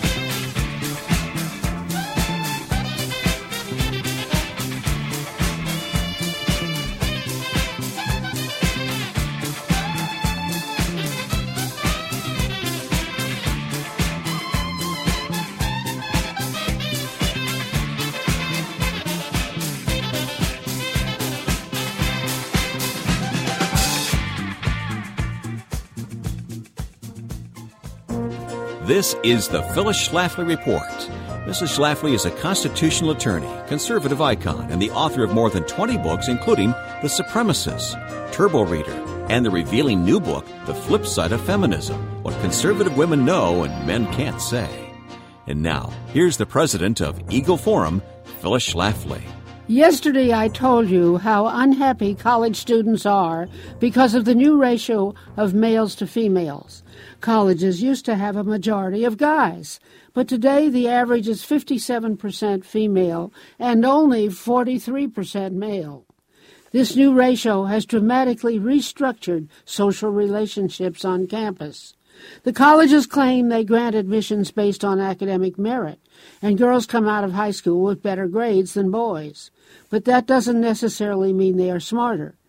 This is the Phyllis Schlafly Report. Mrs. Schlafly is a constitutional attorney, conservative icon, and the author of more than 20 books, including The Supremacists, Turbo Reader, and the revealing new book, The Flip Side of Feminism, What Conservative Women Know and Men Can't Say. And now, here's the president of Eagle Forum, Phyllis Schlafly. Yesterday I told you how unhappy college students are because of the new ratio of males to females. Colleges used to have a majority of guys, but today the average is 57% female and only 43% male. This new ratio has dramatically restructured social relationships on campus. The colleges claim they grant admissions based on academic merit, and girls come out of high school with better grades than boys. But that doesn't necessarily mean they are smarter.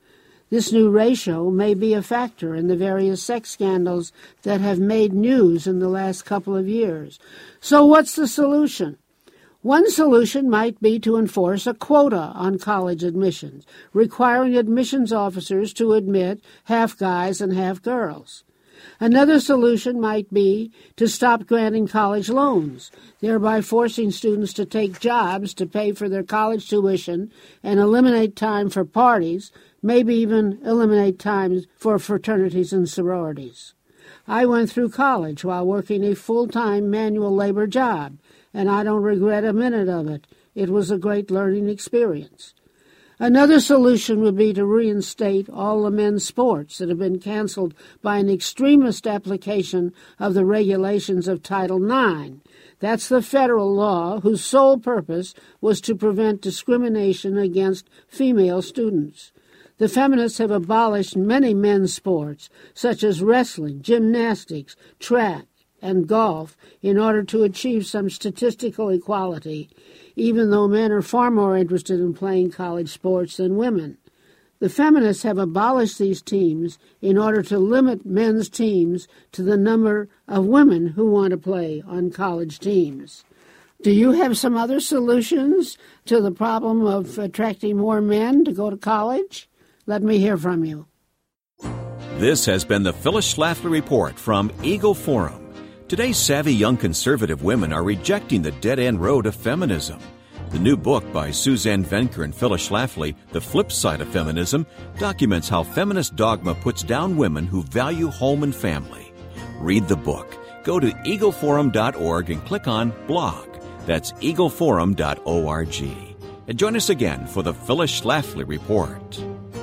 This new ratio may be a factor in the various sex scandals that have made news in the last couple of years. So what's the solution? One solution might be to enforce a quota on college admissions, requiring admissions officers to admit half guys and half girls. Another solution might be to stop granting college loans, thereby forcing students to take jobs to pay for their college tuition and eliminate time for parties, maybe even eliminate time for fraternities and sororities. I went through college while working a full-time manual labor job, and I don't regret a minute of it. It was a great learning experience. Another solution would be to reinstate all the men's sports that have been canceled by an extremist application of the regulations of Title IX. That's the federal law whose sole purpose was to prevent discrimination against female students. The feminists have abolished many men's sports, such as wrestling, gymnastics, track, and golf, in order to achieve some statistical equality, even though men are far more interested in playing college sports than women. The feminists have abolished these teams in order to limit men's teams to the number of women who want to play on college teams. Do you have some other solutions to the problem of attracting more men to go to college? Let me hear from you. This has been the Phyllis Schlafly Report from Eagle Forum. Today's savvy young conservative women are rejecting the dead-end road of feminism. The new book by Suzanne Venker and Phyllis Schlafly, The Flip Side of Feminism, documents how feminist dogma puts down women who value home and family. Read the book. Go to eagleforum.org and click on Blog. That's eagleforum.org. And join us again for the Phyllis Schlafly Report.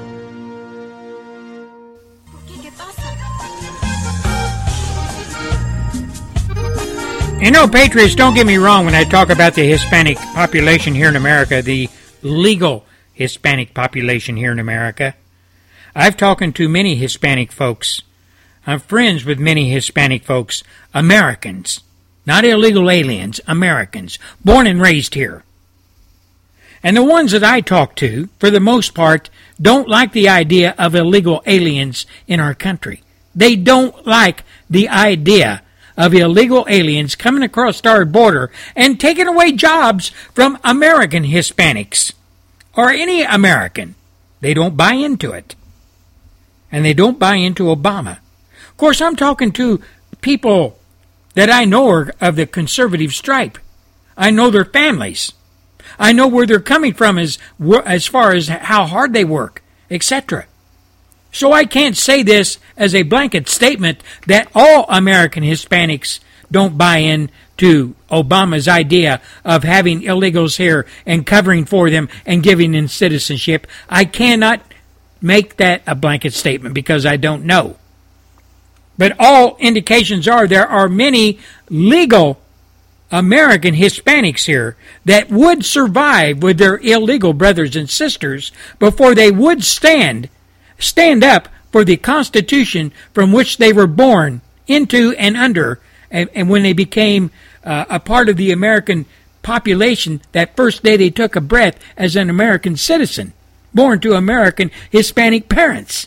You know, Patriots, don't get me wrong when I talk about the Hispanic population here in America, the legal Hispanic population here in America. I've talked to many Hispanic folks. I'm friends with many Hispanic folks, Americans, not illegal aliens, Americans, born and raised here. And the ones that I talk to, for the most part, don't like the idea of illegal aliens in our country. They don't like the idea of illegal aliens coming across our border and taking away jobs from American Hispanics or any American. They don't buy into it. And they don't buy into Obama. Of course, I'm talking to people that I know are of the conservative stripe. I know their families. I know where they're coming from as far as how hard they work, etc. So I can't say this as a blanket statement that all American Hispanics don't buy in to Obama's idea of having illegals here and covering for them and giving them citizenship. I cannot make that a blanket statement because I don't know. But all indications are there are many legal American Hispanics here that would survive with their illegal brothers and sisters before they would stand up for the Constitution from which they were born into and under, and when they became a part of the American population that first day they took a breath as an American citizen, born to American Hispanic parents.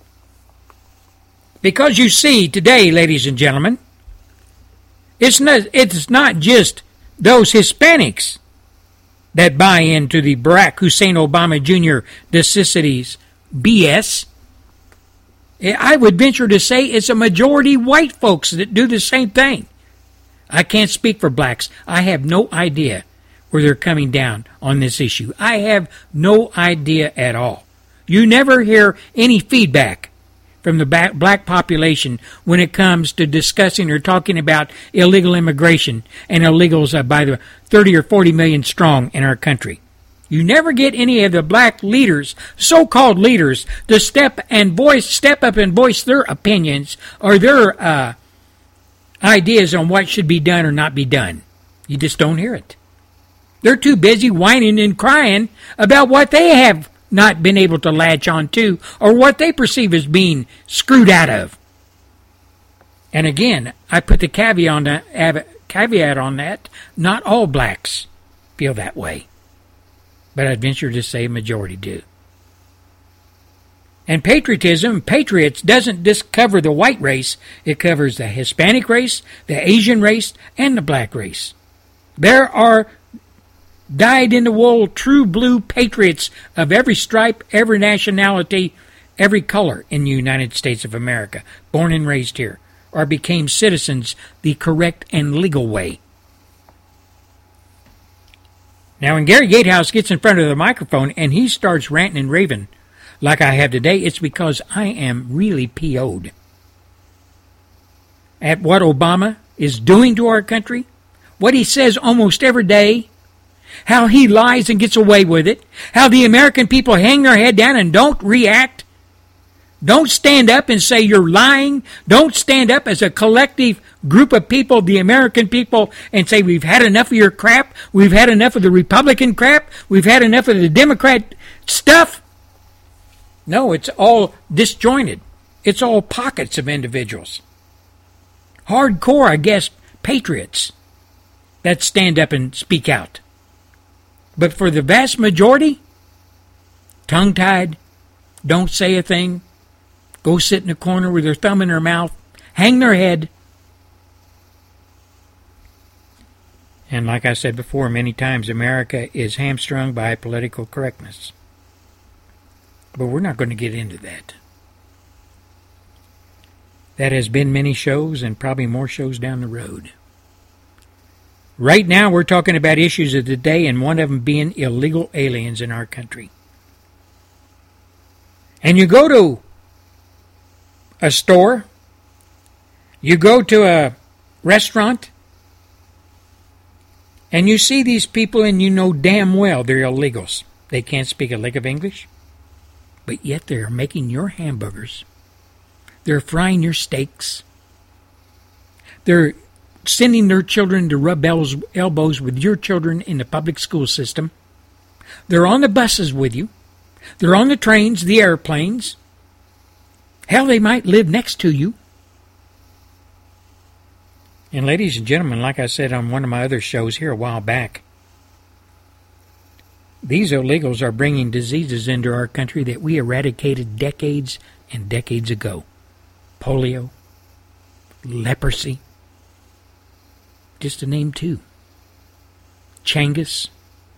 Because you see today, ladies and gentlemen, it's not just those Hispanics that buy into the Barack Hussein Obama Jr. necessities BS. I would venture to say it's a majority white folks that do the same thing. I can't speak for blacks. I have no idea where they're coming down on this issue. I have no idea at all. You never hear any feedback from the black population when it comes to discussing or talking about illegal immigration and illegals by the 30 or 40 million strong in our country. You never get any of the black leaders, so-called leaders, to step up and voice their opinions or their ideas on what should be done or not be done. You just don't hear it. They're too busy whining and crying about what they have not been able to latch on to or what they perceive as being screwed out of. And again, I put the caveat on that. Not all blacks feel that way. But I'd venture to say a majority do. And patriotism, patriots, doesn't just cover the white race. It covers the Hispanic race, the Asian race, and the black race. There are dyed-in-the-wool, true blue patriots of every stripe, every nationality, every color in the United States of America, born and raised here, or became citizens the correct and legal way. Now, when Gary Gatehouse gets in front of the microphone and he starts ranting and raving like I have today, it's because I am really PO'd at what Obama is doing to our country, what he says almost every day, how he lies and gets away with it, how the American people hang their head down and don't react, don't stand up and say you're lying, don't stand up as a collective group of people, the American people, and say we've had enough of your crap, we've had enough of the Republican crap, we've had enough of the Democrat stuff. No, it's all disjointed. It's all pockets of individuals. Hardcore, I guess, patriots that stand up and speak out. But for the vast majority, tongue-tied, don't say a thing, go sit in a corner with their thumb in their mouth, hang their head. And like I said before many times, America is hamstrung by political correctness. But we're not going to get into that. That has been many shows and probably more shows down the road. Right now we're talking about issues of the day, and one of them being illegal aliens in our country. And you go to a store, you go to a restaurant, and you see these people and you know damn well they're illegals. They can't speak a lick of English, but yet they're making your hamburgers. They're frying your steaks. They're sending their children to rub elbows with your children in the public school system. They're on the buses with you. They're on the trains, the airplanes. Hell, they might live next to you. And ladies and gentlemen, like I said on one of my other shows here a while back, these illegals are bringing diseases into our country that we eradicated decades and decades ago. Polio, leprosy, just to name two. Changis.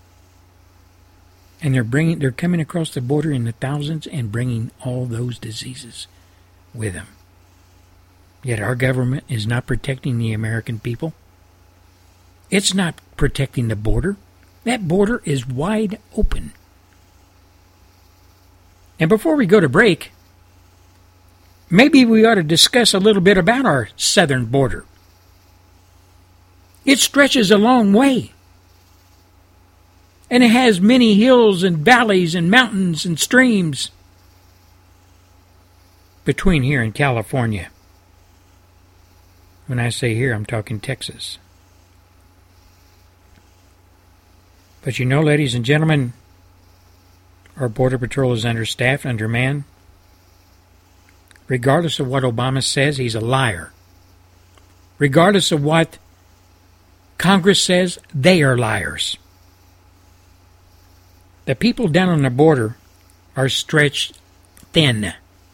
And they're coming across the border in the thousands and bringing all those diseases with them. Yet our government is not protecting the American people. It's not protecting the border. That border is wide open. And before we go to break, maybe we ought to discuss a little bit about our southern border. It stretches a long way. And it has many hills and valleys and mountains and streams between here and California. When I say here, I'm talking Texas. But you know, ladies and gentlemen, our Border Patrol is understaffed, undermanned. Regardless of what Obama says, he's a liar. Regardless of what Congress says, they are liars. The people down on the border are stretched thin.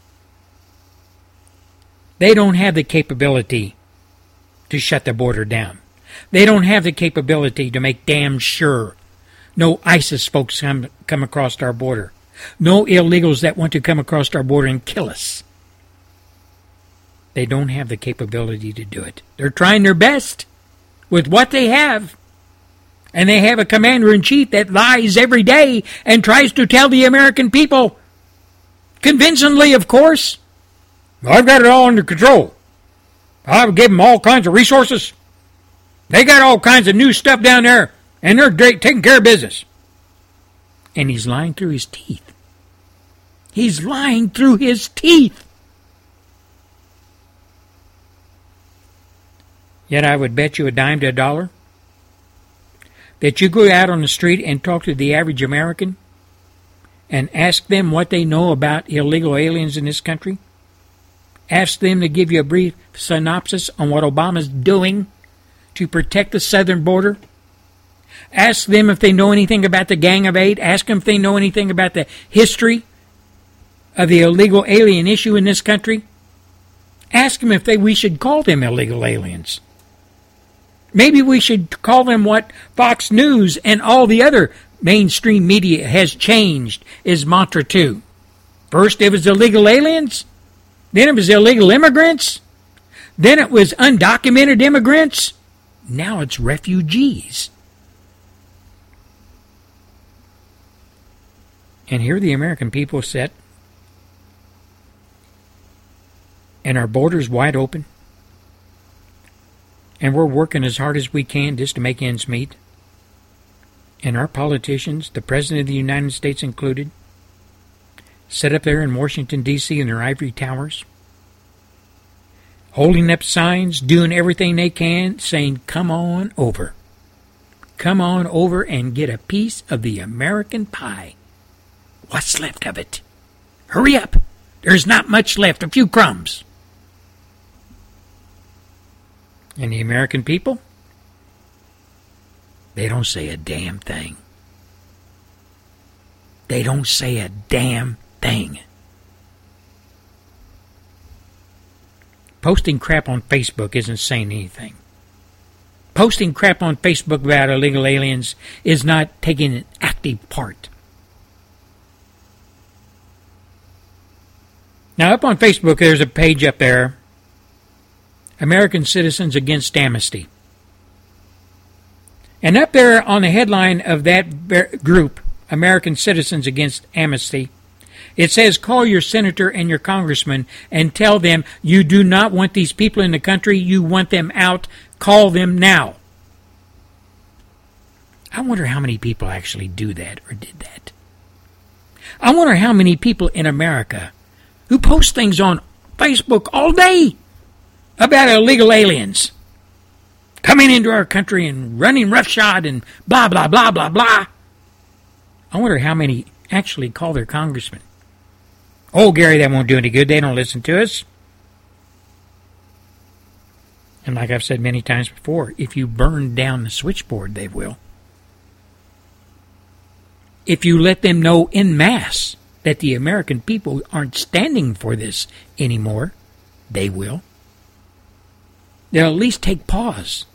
They don't have the capability to shut the border down. They don't have the capability to make damn sure no ISIS folks come across our border. No illegals that want to come across our border and kill us. They don't have the capability to do it. They're trying their best with what they have. And they have a commander-in-chief that lies every day and tries to tell the American people, convincingly, of course, I've got it all under control. I've given them all kinds of resources. They got all kinds of new stuff down there, and they're great, taking care of business. And he's lying through his teeth. He's lying through his teeth. Yet I would bet you a dime to a dollar that you go out on the street and talk to the average American and ask them what they know about illegal aliens in this country. Ask them to give you a brief synopsis on what Obama's doing to protect the southern border. Ask them if they know anything about the Gang of Eight. Ask them if they know anything about the history of the illegal alien issue in this country, ask them if we should call them illegal aliens. Maybe we should call them what Fox News and all the other mainstream media has changed its mantra to. First it was illegal aliens, then it was illegal immigrants, then it was undocumented immigrants, now it's refugees. And here the American people sit, and our borders wide open, and we're working as hard as we can just to make ends meet. And our politicians, the President of the United States included, sit up there in Washington, D.C. in their ivory towers, holding up signs, doing everything they can, saying, come on over. Come on over and get a piece of the American pie. What's left of it? Hurry up. There's not much left, a few crumbs. And the American people? They don't say a damn thing. They don't say a damn thing. Posting crap on Facebook isn't saying anything. Posting crap on Facebook about illegal aliens is not taking an active part. Now, up on Facebook, there's a page up there, American Citizens Against Amnesty. And up there on the headline of that group, American Citizens Against Amnesty, it says, call your senator and your congressman and tell them you do not want these people in the country, you want them out, call them now. I wonder how many people actually do that or did that. I wonder how many people in America who post things on Facebook all day about illegal aliens coming into our country and running roughshod and blah, blah, blah, blah, blah. I wonder how many actually call their congressman. Oh, Gary, that won't do any good. They don't listen to us. And like I've said many times before, if you burn down the switchboard, they will. If you let them know en masse that the American people aren't standing for this anymore, they will. They'll at least take pause.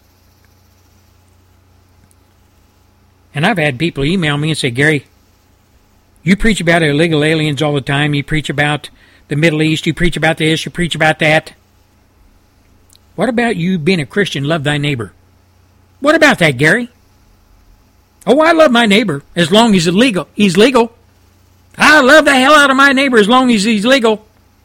And I've had people email me and say, Gary, you preach about illegal aliens all the time. You preach about the Middle East. You preach about this. You preach about that. What about you being a Christian, love thy neighbor? What about that, Gary? Oh, I love my neighbor as long as he's legal. I love the hell out of my neighbor as long as he's legal.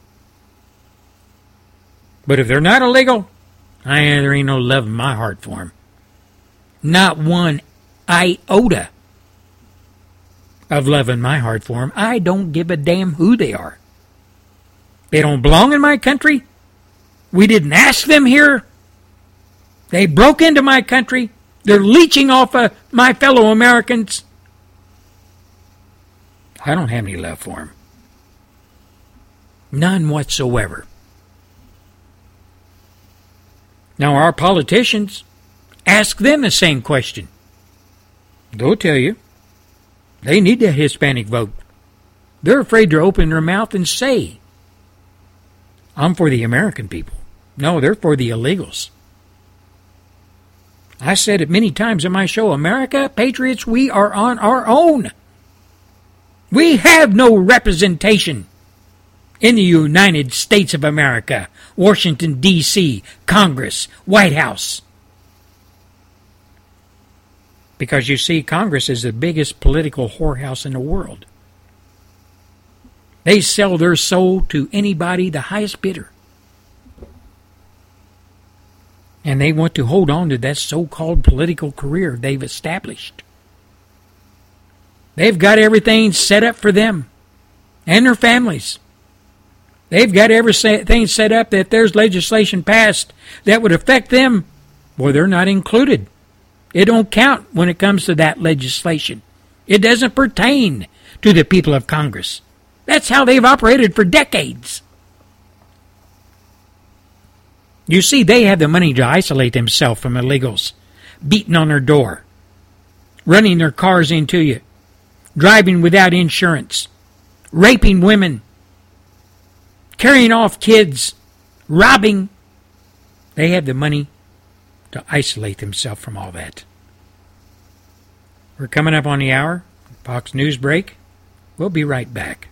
But if they're not illegal, there ain't no love in my heart for them. Not one iota of love in my heart for them. I don't give a damn who they are. They don't belong in my country. We didn't ask them here. They broke into my country. They're leeching off of my fellow Americans. I don't have any love for them. None whatsoever. Now, our politicians, ask them the same question. They'll tell you. They need that Hispanic vote. They're afraid to open their mouth and say, I'm for the American people. No, they're for the illegals. I said it many times in my show, America, patriots, we are on our own. We have no representation in the United States of America, Washington, D.C., Congress, White House. Because you see, Congress is the biggest political whorehouse in the world. They sell their soul to anybody, the highest bidder. And they want to hold on to that so-called political career they've established. They've got everything set up for them and their families. They've got everything set up that if there's legislation passed that would affect them, well, they're not included. It don't count when it comes to that legislation. It doesn't pertain to the people of Congress. That's how they've operated for decades. You see, they have the money to isolate themselves from illegals, beating on their door, running their cars into you, driving without insurance, raping women, carrying off kids, robbing. They have the money to isolate themselves from all that. We're coming up on the hour. Fox News break. We'll be right back.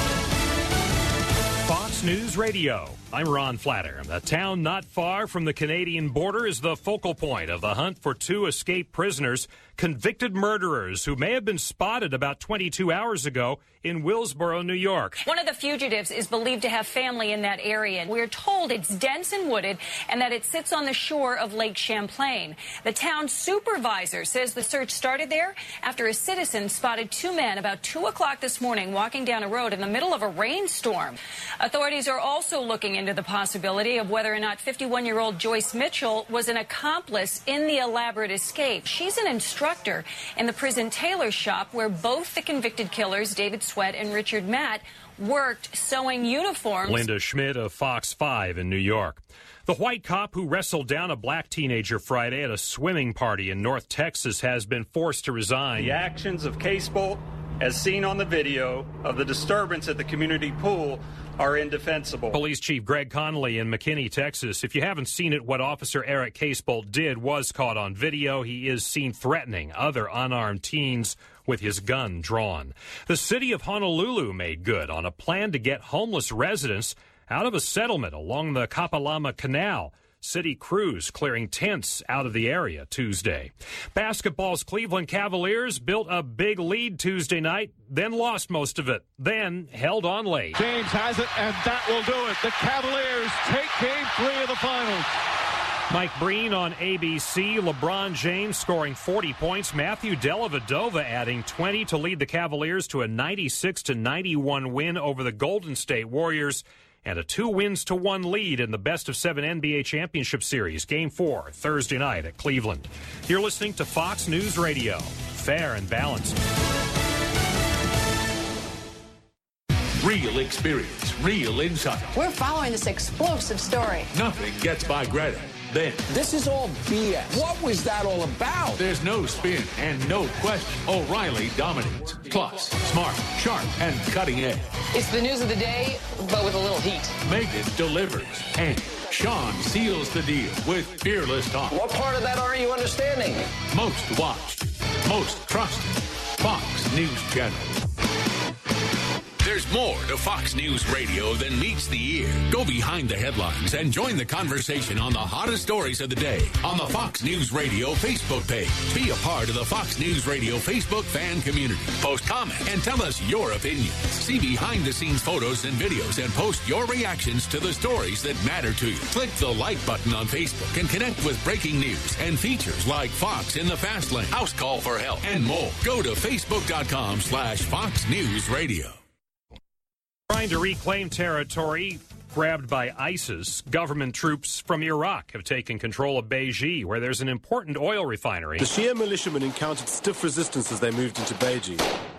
Fox News Radio. I'm Ron Flatter. A town not far from the Canadian border is the focal point of the hunt for two escaped prisoners, convicted murderers who may have been spotted about 22 hours ago in Willsboro, New York. One of the fugitives is believed to have family in that area. We're told it's dense and wooded and that it sits on the shore of Lake Champlain. The town supervisor says the search started there after a citizen spotted two men about 2 o'clock this morning walking down a road in the middle of a rainstorm. Authorities are also looking into the possibility of whether or not 51-year-old Joyce Mitchell was an accomplice in the elaborate escape. She's an instructor in the prison tailor shop where both the convicted killers, David Sweat and Richard Matt, worked sewing uniforms. Linda Schmidt of Fox 5 in New York. The white cop who wrestled down a black teenager Friday at a swimming party in North Texas has been forced to resign. The actions of Case Bolt, as seen on the video of the disturbance at the community pool, are indefensible. Police Chief Greg Connolly in McKinney, Texas. If you haven't seen it, what Officer Eric Casebolt did was caught on video. He is seen threatening other unarmed teens with his gun drawn. The city of Honolulu made good on a plan to get homeless residents out of a settlement along the Kapalama Canal. City crews clearing tents out of the area Tuesday. Basketball's Cleveland Cavaliers built a big lead Tuesday night, then lost most of it, then held on late. James has it, and that will do it. The Cavaliers take Game 3 of the finals. Mike Breen on ABC. LeBron James scoring 40 points. Matthew Dellavedova adding 20 to lead the Cavaliers to a 96-91 win over the Golden State Warriors, and a 2-1 lead in the best-of-7 NBA Championship Series. Game 4, Thursday night at Cleveland. You're listening to Fox News Radio. Fair and balanced. Real experience, real insight. We're following this explosive story. Nothing gets by Greta. Then this is all BS. What was that all about? There's no spin and no question. O'Reilly dominates. Plus, smart, sharp, and cutting edge. It's the news of the day, but with a little heat. Megan delivers. And Sean seals the deal with fearless talk. What part of that aren't you understanding? Most watched, most trusted, Fox News Channel. There's more to Fox News Radio than meets the ear. Go behind the headlines and join the conversation on the hottest stories of the day on the Fox News Radio Facebook page. Be a part of the Fox News Radio Facebook fan community. Post comments and tell us your opinions. See behind-the-scenes photos and videos and post your reactions to the stories that matter to you. Click the like button on Facebook and connect with breaking news and features like Fox in the Fast Lane, House Call for Help, and more. Go to Facebook.com/Fox News Radio. Trying to reclaim territory grabbed by ISIS, government troops from Iraq have taken control of Beiji, where there's an important oil refinery. The Shia militiamen encountered stiff resistance as they moved into Beiji.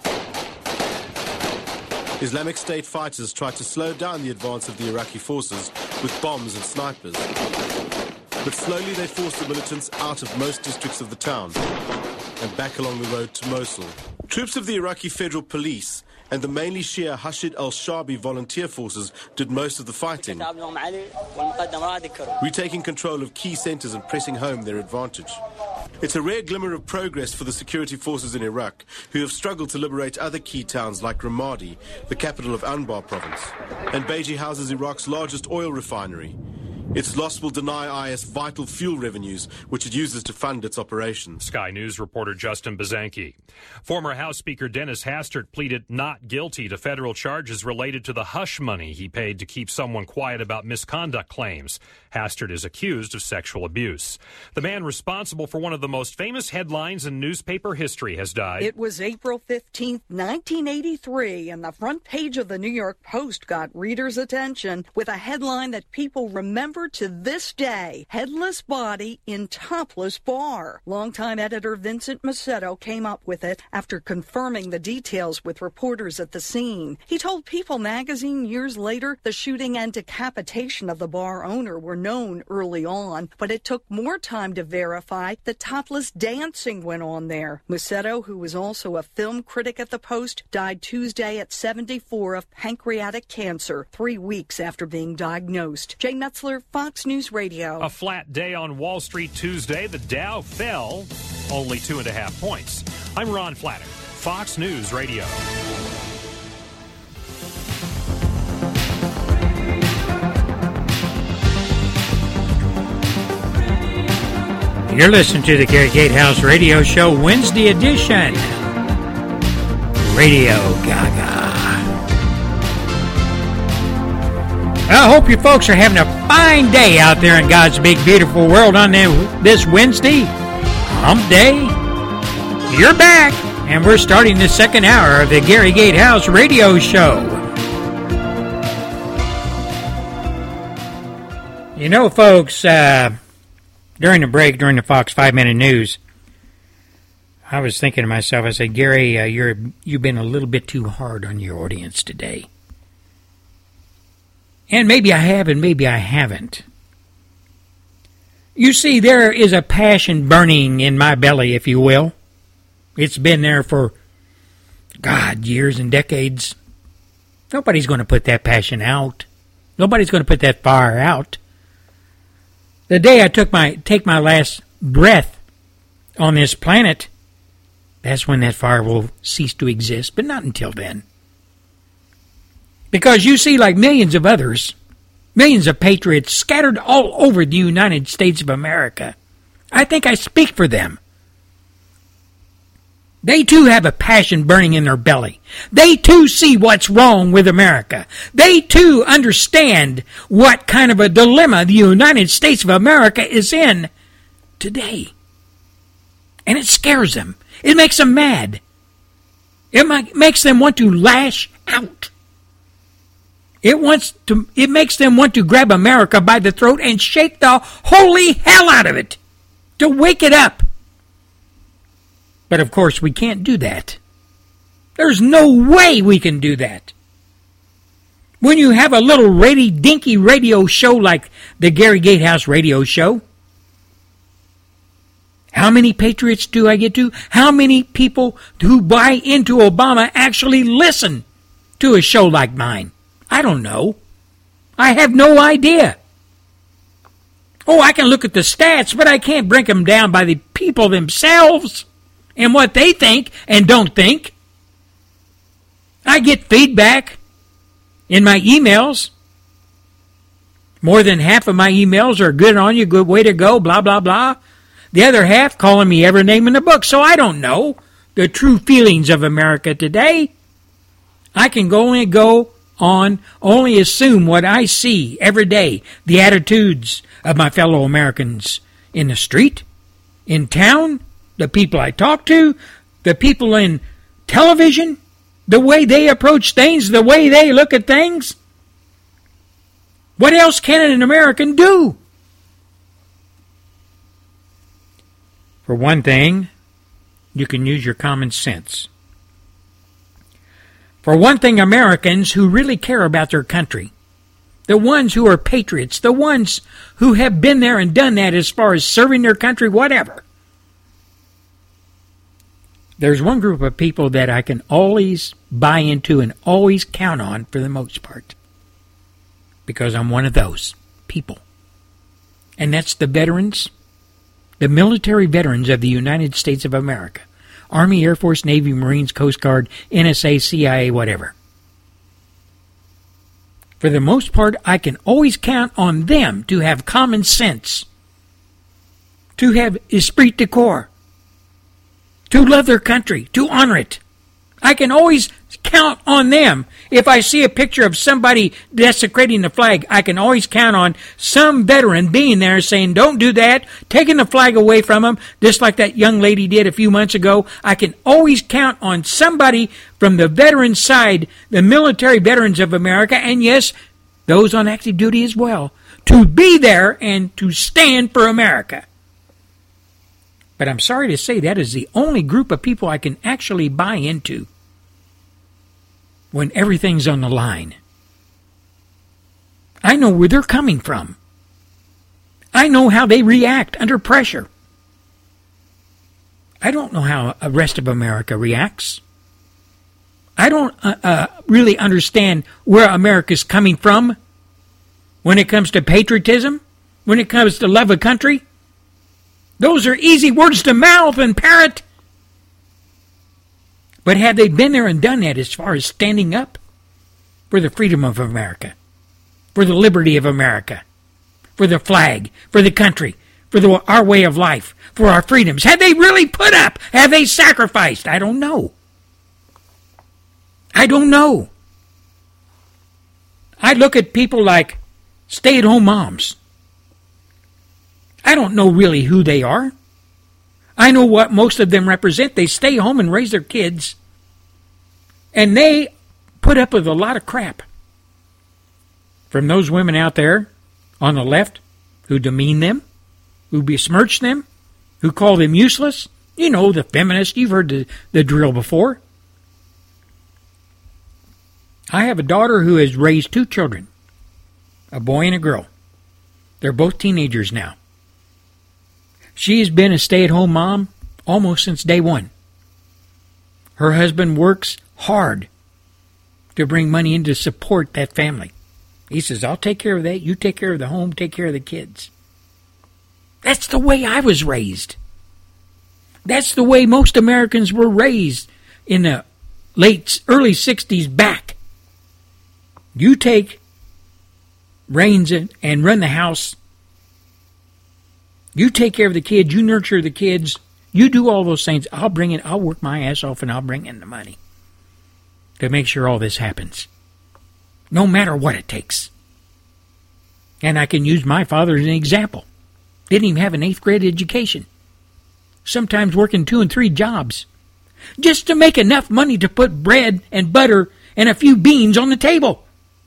Islamic State fighters tried to slow down the advance of the Iraqi forces with bombs and snipers. But slowly they forced the militants out of most districts of the town and back along the road to Mosul. Troops of the Iraqi Federal Police and the mainly Shia Hashid al-Shabi volunteer forces did most of the fighting, retaking control of key centers and pressing home their advantage. It's a rare glimmer of progress for the security forces in Iraq, who have struggled to liberate other key towns like Ramadi, the capital of Anbar province. And Beiji houses Iraq's largest oil refinery. Its loss will deny IS vital fuel revenues, which it uses to fund its operations. Sky News reporter Justin Bazanki. Former House Speaker Dennis Hastert pleaded not guilty to federal charges related to the hush money he paid to keep someone quiet about misconduct claims. Hastert is accused of sexual abuse. The man responsible for one of the most famous headlines in newspaper history has died. It was April 15th, 1983, and the front page of the New York Post got readers' attention with a headline that people remembered discovered to this day headless body in topless bar. Longtime editor Vincent Macedo came up with it after confirming the details with reporters at the scene. He told People magazine years later the shooting and decapitation of the bar owner were known early on, but it took more time to verify that topless dancing went on there. Macedo, who was also a film critic at the Post, died Tuesday at 74 of pancreatic cancer, 3 weeks after being diagnosed. Jay Metzler, Fox News Radio. A flat day on Wall Street Tuesday. The Dow fell only 2.5 points. I'm Ron Flatter, Fox News Radio. You're listening to the Gary Gatehouse Radio Show, Wednesday edition. Radio Gaga. I hope you folks are having a fine day out there in God's big, beautiful world on this Wednesday, Hump Day. You're back, and we're starting the second hour of the Gary Gatehouse Radio Show. You know, folks, during the break, during the Fox 5-Minute News, I was thinking to myself, I said, Gary, you've been a little bit too hard on your audience today. And maybe I have and maybe I haven't. You see, there is a passion burning in my belly, if you will. It's been there for, years and decades. Nobody's going to put that passion out. Nobody's going to put that fire out. The day I take my last breath on this planet, that's when that fire will cease to exist, but not until then. Because you see, like millions of others, millions of patriots scattered all over the United States of America, I think I speak for them. They too have a passion burning in their belly. They too see what's wrong with America. They too understand what kind of a dilemma the United States of America is in today. And it scares them. It makes them mad. It makes them want to lash out. It makes them want to grab America by the throat and shake the holy hell out of it. To wake it up. But of course we can't do that. There's no way we can do that. When you have a little dinky radio show like the Gary Gatehouse Radio Show, how many patriots do I get to? How many people who buy into Obama actually listen to a show like mine? I don't know. I have no idea. Oh, I can look at the stats, but I can't break them down by the people themselves and what they think and don't think. I get feedback in my emails. More than half of my emails are good on you, good way to go, blah, blah, blah. The other half calling me every name in the book. So I don't know the true feelings of America today. I can only go on, only assume what I see every day. The attitudes of my fellow Americans in the street, in town, the people I talk to, the people in television, the way they approach things, the way they look at things. What else can an American do? For one thing, you can use your common sense. For one thing, Americans who really care about their country, the ones who are patriots, the ones who have been there and done that as far as serving their country, whatever. There's one group of people that I can always buy into and always count on for the most part. Because I'm one of those people. And that's the veterans, the military veterans of the United States of America. Army, Air Force, Navy, Marines, Coast Guard, NSA, CIA, whatever. For the most part, I can always count on them to have common sense, to have esprit de corps, to love their country, to honor it. I can always count on them. If I see a picture of somebody desecrating the flag, I can always count on some veteran being there saying, don't do that, taking the flag away from them, just like that young lady did a few months ago. I can always count on somebody from the veteran side, the military veterans of America, and yes, those on active duty as well, to be there and to stand for America. But I'm sorry to say that is the only group of people I can actually buy into when everything's on the line. I know where they're coming from. I know how they react under pressure. I don't know how the rest of America reacts. I don't really understand where America's coming from when it comes to patriotism, when it comes to love of country. Those are easy words to mouth and parrot. But have they been there and done that as far as standing up for the freedom of America, for the liberty of America, for the flag, for the country, for our way of life, for our freedoms? Have they really put up? Have they sacrificed? I don't know. I don't know. I look at people like stay-at-home moms. I don't know really who they are. I know what most of them represent. They stay home and raise their kids. And they put up with a lot of crap from those women out there on the left who demean them, who besmirch them, who call them useless. You know, the feminists. You've heard the drill before. I have a daughter who has raised 2 children, a boy and a girl. They're both teenagers now. She's been a stay-at-home mom almost since day one. Her husband works hard to bring money in to support that family. He says, I'll take care of that. You take care of the home, take care of the kids. That's the way I was raised. That's the way most Americans were raised in the early 60s back. You take reins and run the house. You take care of the kids. You nurture the kids. You do all those things. I'll work my ass off and I'll bring in the money to make sure all this happens. No matter what it takes. And I can use my father as an example. Didn't even have an 8th grade education. Sometimes working 2 and 3 jobs. Just to make enough money to put bread and butter and a few beans on the table.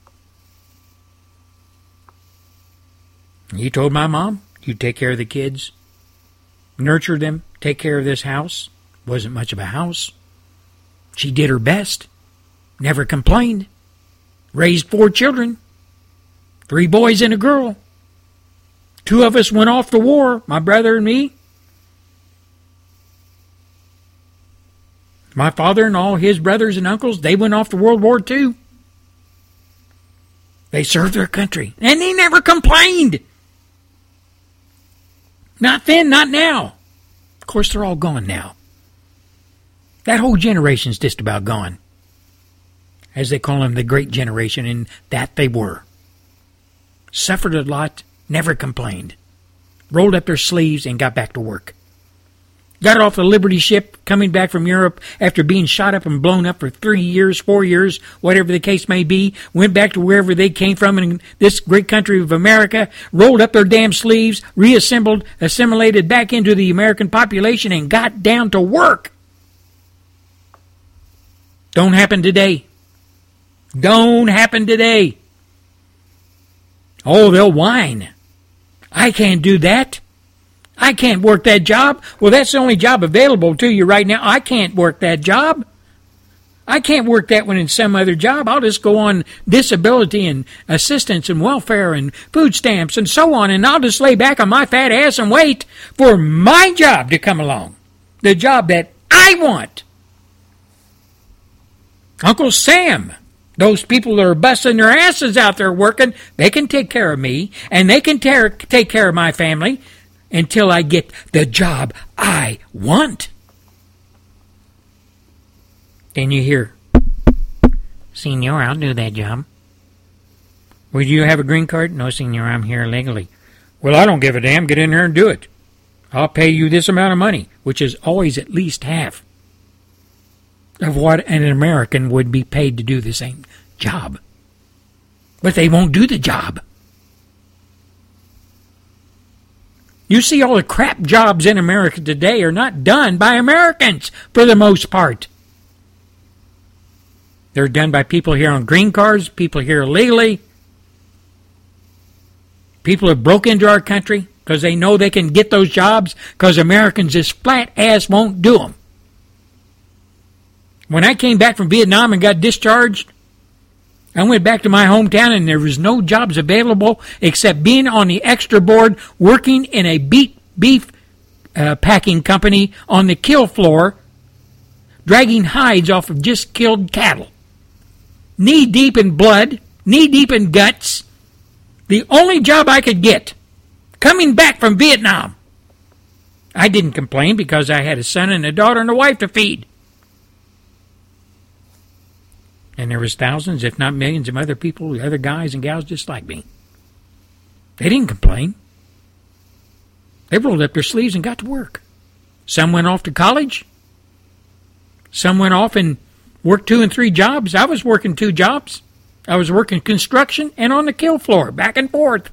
He told my mom, you take care of the kids, nurture them, take care of this house. Wasn't much of a house. She did her best, never complained. Raised 4 children, 3 boys and a girl. 2 of us went off to war, my brother and me. My father and all his brothers and uncles, they went off to World War II. They served their country, and they never complained. Not then, not now. Of course, they're all gone now. That whole generation's just about gone. As they call them, the Great Generation, and that they were. Suffered a lot, never complained. Rolled up their sleeves and got back to work. Got off the Liberty ship, coming back from Europe after being shot up and blown up for 3 years, 4 years, whatever the case may be. Went back to wherever they came from in this great country of America. Rolled up their damn sleeves, reassembled, assimilated back into the American population, and got down to work. Don't happen today. Don't happen today. Oh, they'll whine. I can't do that. I can't work that job. Well, that's the only job available to you right now. I can't work that job. I can't work that one in some other job. I'll just go on disability and assistance and welfare and food stamps and so on, and I'll just lay back on my fat ass and wait for my job to come along. The job that I want. Uncle Sam, those people that are busting their asses out there working, they can take care of me, and they can take care of my family until I get the job I want. Then you hear, Senor, I'll do that job. Well, do you have a green card? No, Senor, I'm here illegally. Well, I don't give a damn. Get in there and do it. I'll pay you this amount of money, which is always at least half of what an American would be paid to do the same job. But they won't do the job. You see, all the crap jobs in America today are not done by Americans for the most part. They're done by people here on green cards, people here illegally. People have broke into our country because they know they can get those jobs because Americans just flat ass won't do them. When I came back from Vietnam and got discharged, I went back to my hometown and there was no jobs available except being on the extra board working in a beef packing company on the kill floor, dragging hides off of just killed cattle. Knee deep in blood, knee deep in guts. The only job I could get, coming back from Vietnam. I didn't complain because I had a son and a daughter and a wife to feed. And there was thousands, if not millions, of other people, other guys and gals just like me. They didn't complain. They rolled up their sleeves and got to work. Some went off to college. Some went off and worked 2 and 3 jobs. I was working 2 jobs. I was working construction and on the kill floor, back and forth.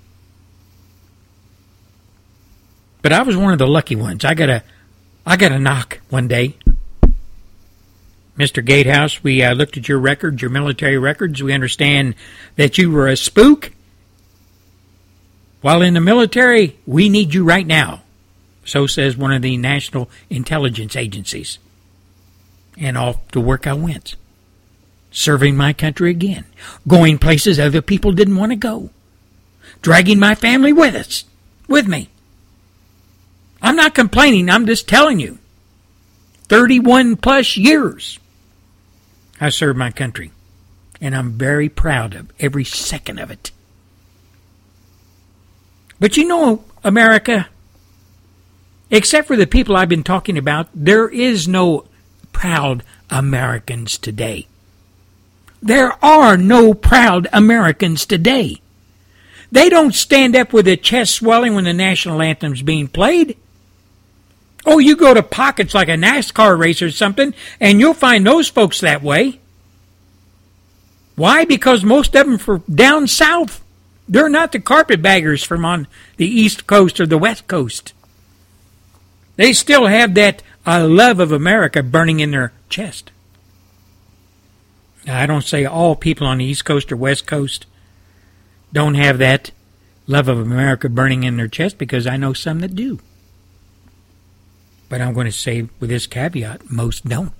But I was one of the lucky ones. I got a knock one day. Mr. Gatehouse, we looked at your records, your military records. We understand that you were a spook. While in the military, we need you right now. So says one of the national intelligence agencies. And off to work I went. Serving my country again. Going places other people didn't want to go. Dragging my family with me. I'm not complaining, I'm just telling you. 31 plus years I served my country. And I'm very proud of every second of it. But you know, America, except for the people I've been talking about, there is no proud Americans today. There are no proud Americans today. They don't stand up with their chest swelling when the national anthem's being played. Oh, you go to pockets like a NASCAR race or something, and you'll find those folks that way. Why? Because most of them from down south. They're not the carpetbaggers from on the East Coast or the West Coast. They still have that love of America burning in their chest. Now, I don't say all people on the East Coast or West Coast don't have that love of America burning in their chest, because I know some that do. But I'm going to say with this caveat, most don't.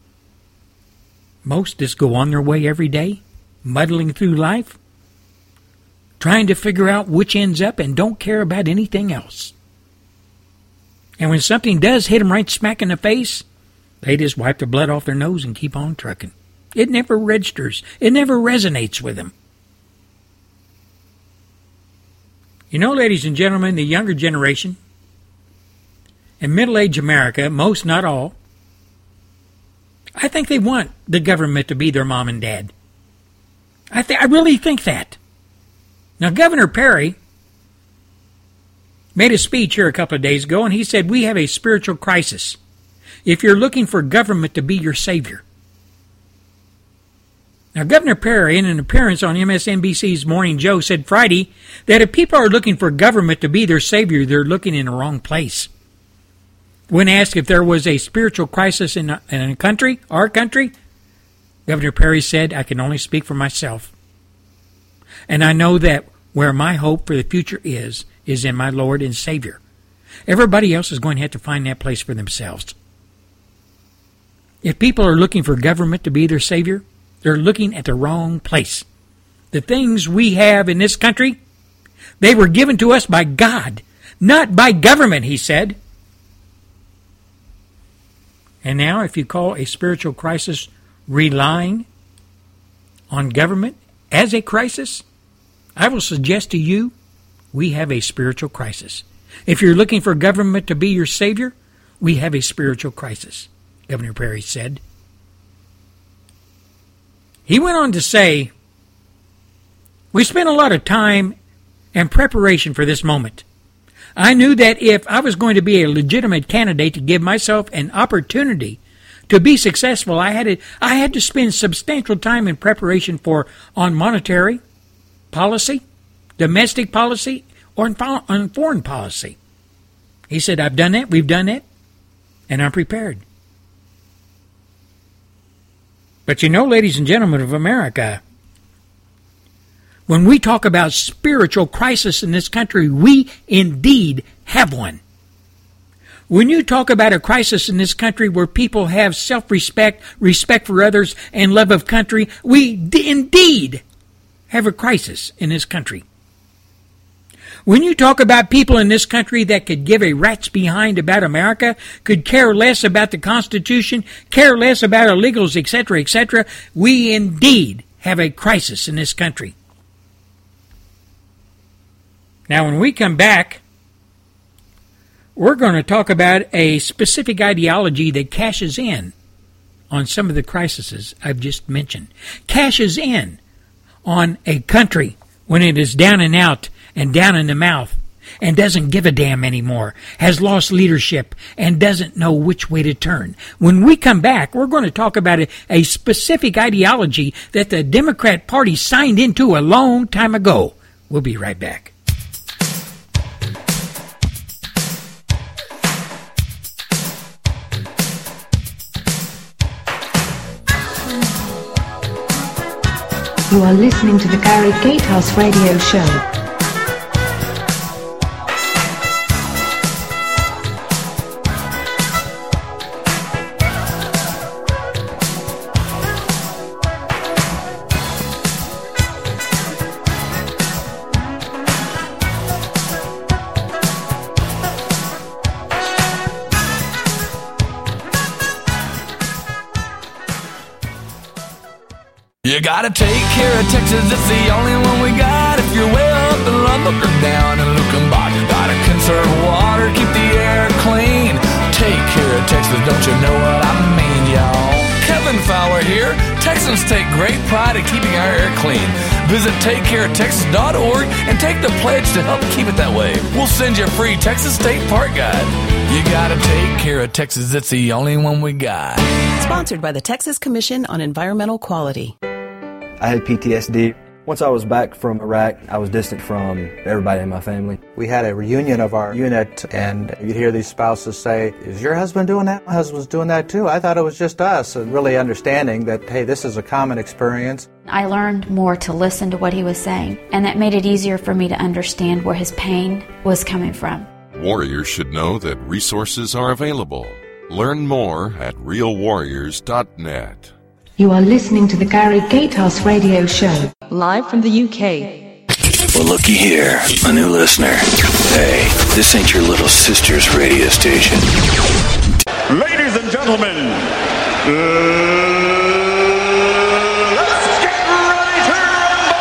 Most just go on their way every day, muddling through life, trying to figure out which ends up and don't care about anything else. And when something does hit them right smack in the face, they just wipe the blood off their nose and keep on trucking. It never registers. It never resonates with them. You know, ladies and gentlemen, the younger generation and middle-aged America, most, not all, I think they want the government to be their mom and dad. I really think that. Now, Governor Perry made a speech here a couple of days ago, and he said, we have a spiritual crisis if you're looking for government to be your savior. Now, Governor Perry, in an appearance on MSNBC's Morning Joe, said Friday that if people are looking for government to be their savior, they're looking in the wrong place. When asked if there was a spiritual crisis in a country, our country, Governor Perry said, I can only speak for myself. And I know that where my hope for the future is in my Lord and Savior. Everybody else is going to have to find that place for themselves. If people are looking for government to be their savior, they're looking at the wrong place. The things we have in this country, they were given to us by God, not by government, he said. And now, if you call a spiritual crisis relying on government as a crisis, I will suggest to you, we have a spiritual crisis. If you're looking for government to be your savior, we have a spiritual crisis, Governor Perry said. He went on to say, we spent a lot of time and preparation for this moment. I knew that if I was going to be a legitimate candidate to give myself an opportunity to be successful, I had to spend substantial time in preparation on monetary policy, domestic policy, or on foreign policy. He said, I've done that, we've done that, and I'm prepared. But you know, ladies and gentlemen of America, When we talk about spiritual crisis in this country, we indeed have one. When you talk about a crisis in this country where people have self-respect, respect for others, and love of country, we indeed have a crisis in this country. When you talk about people in this country that could give a rat's behind about America, could care less about the Constitution, care less about illegals, etc., we indeed have a crisis in this country. Now, when we come back, we're going to talk about a specific ideology that cashes in on some of the crises I've just mentioned. Cashes in on a country when it is down and out and down in the mouth and doesn't give a damn anymore, has lost leadership and doesn't know which way to turn. When we come back, we're going to talk about a specific ideology that the Democrat Party signed into a long time ago. We'll be right back. You are listening to the Gary Gatehouse Radio Show. You gotta take care of Texas, it's the only one we got. If you're way up in Lubbock or down in Luckenbach, gotta conserve water, keep the air clean. Take care of Texas, don't you know what I mean, y'all? Kevin Fowler here. Texans take great pride in keeping our air clean. Visit TakeCareOfTexas.org and take the pledge to help keep it that way. We'll send you a free Texas State Park Guide. You gotta take care of Texas, it's the only one we got. Sponsored by the Texas Commission on Environmental Quality. I had PTSD. Once I was back from Iraq, I was distant from everybody in my family. We had a reunion of our unit, and you'd hear these spouses say, "Is your husband doing that? My husband's doing that too. I thought it was just us." And really understanding that, hey, this is a common experience. I learned more to listen to what he was saying, and that made it easier for me to understand where his pain was coming from. Warriors should know that resources are available. Learn more at realwarriors.net. You are listening to the Gary Gatehouse Radio Show. Live from the UK. Well, looky here, a new listener. Hey, this ain't your little sister's radio station. Ladies and gentlemen, let's get ready to rumble!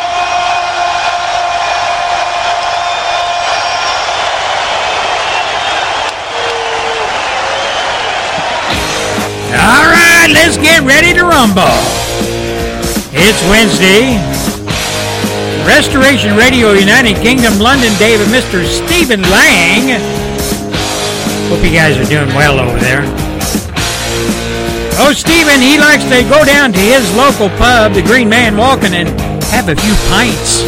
All right, let's get ready to rumble. It's Wednesday. Restoration Radio, United Kingdom, London, David, Mr. Stephen Lang. Hope you guys are doing well over there. Oh, Stephen, he likes to go down to his local pub, the Green Man Walking, and have a few pints.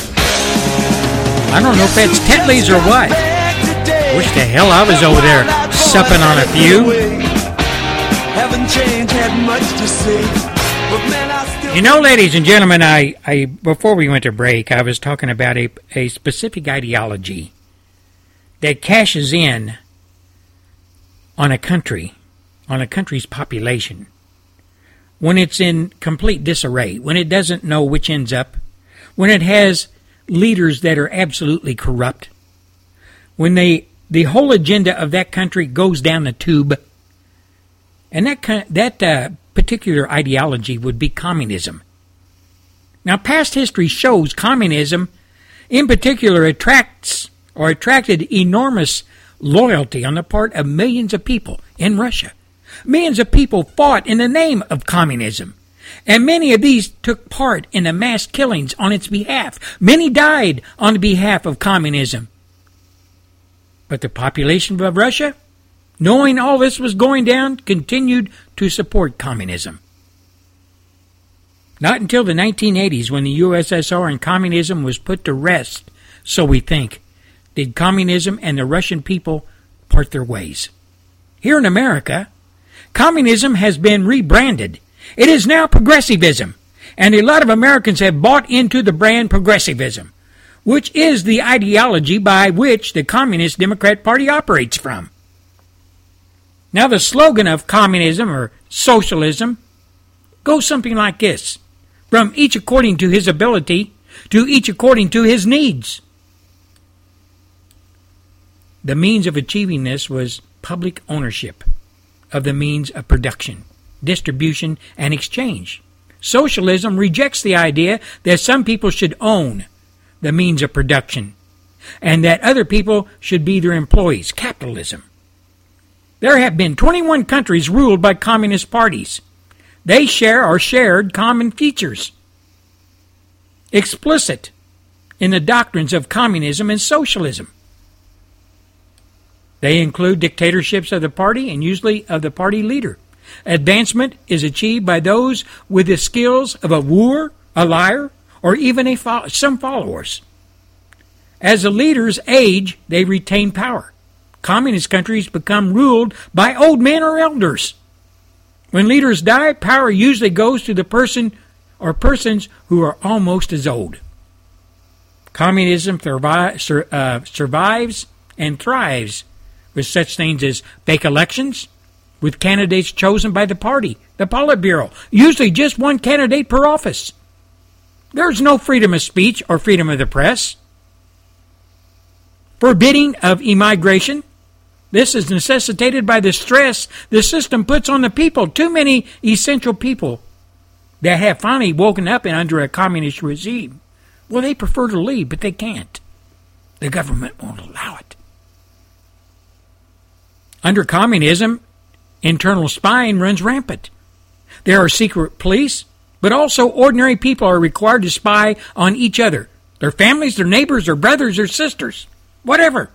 I don't know if that's Tetley's or what. Wish the hell I was over there supping on a few. Haven't changed, had much to say. But man, I still... You know, ladies and gentlemen, I before we went to break, I was talking about a specific ideology that cashes in on a country's population when it's in complete disarray, when it doesn't know which end's up, when it has leaders that are absolutely corrupt, when the whole agenda of that country goes down the tube. And that particular ideology would be communism. Now, past history shows communism, in particular, attracted enormous loyalty on the part of millions of people in Russia. Millions of people fought in the name of communism, and many of these took part in the mass killings on its behalf. Many died on the behalf of communism. But the population of Russia, knowing all this was going down, continued to support communism. Not until the 1980s, when the USSR and communism was put to rest, so we think, did communism and the Russian people part their ways. Here in America, communism has been rebranded. It is now progressivism, And a lot of Americans have bought into the brand progressivism, which is the ideology by which the Communist Democrat Party operates from. Now, the slogan of communism or socialism goes something like this: from each according to his ability, to each according to his needs. The means of achieving this was public ownership of the means of production, distribution, and exchange. Socialism rejects the idea that some people should own the means of production and that other people should be their employees. Capitalism. There have been 21 countries ruled by communist parties. They share or shared common features, explicit in the doctrines of communism and socialism. They include dictatorships of the party and usually of the party leader. Advancement is achieved by those with the skills of a wooer, a liar, or even some followers. As the leaders age, they retain power. Communist countries become ruled by old men or elders. When leaders die, power usually goes to the person or persons who are almost as old. Communism survives and thrives with such things as fake elections, with candidates chosen by the party, the Politburo, usually just one candidate per office. There's no freedom of speech or freedom of the press. Forbidding of immigration. This is necessitated by the stress the system puts on the people. Too many essential people that have finally woken up and under a communist regime, well, they prefer to leave, but they can't. The government won't allow it. Under communism, internal spying runs rampant. There are secret police, but also ordinary people are required to spy on each other, their families, their neighbors, their brothers, their sisters, whatever.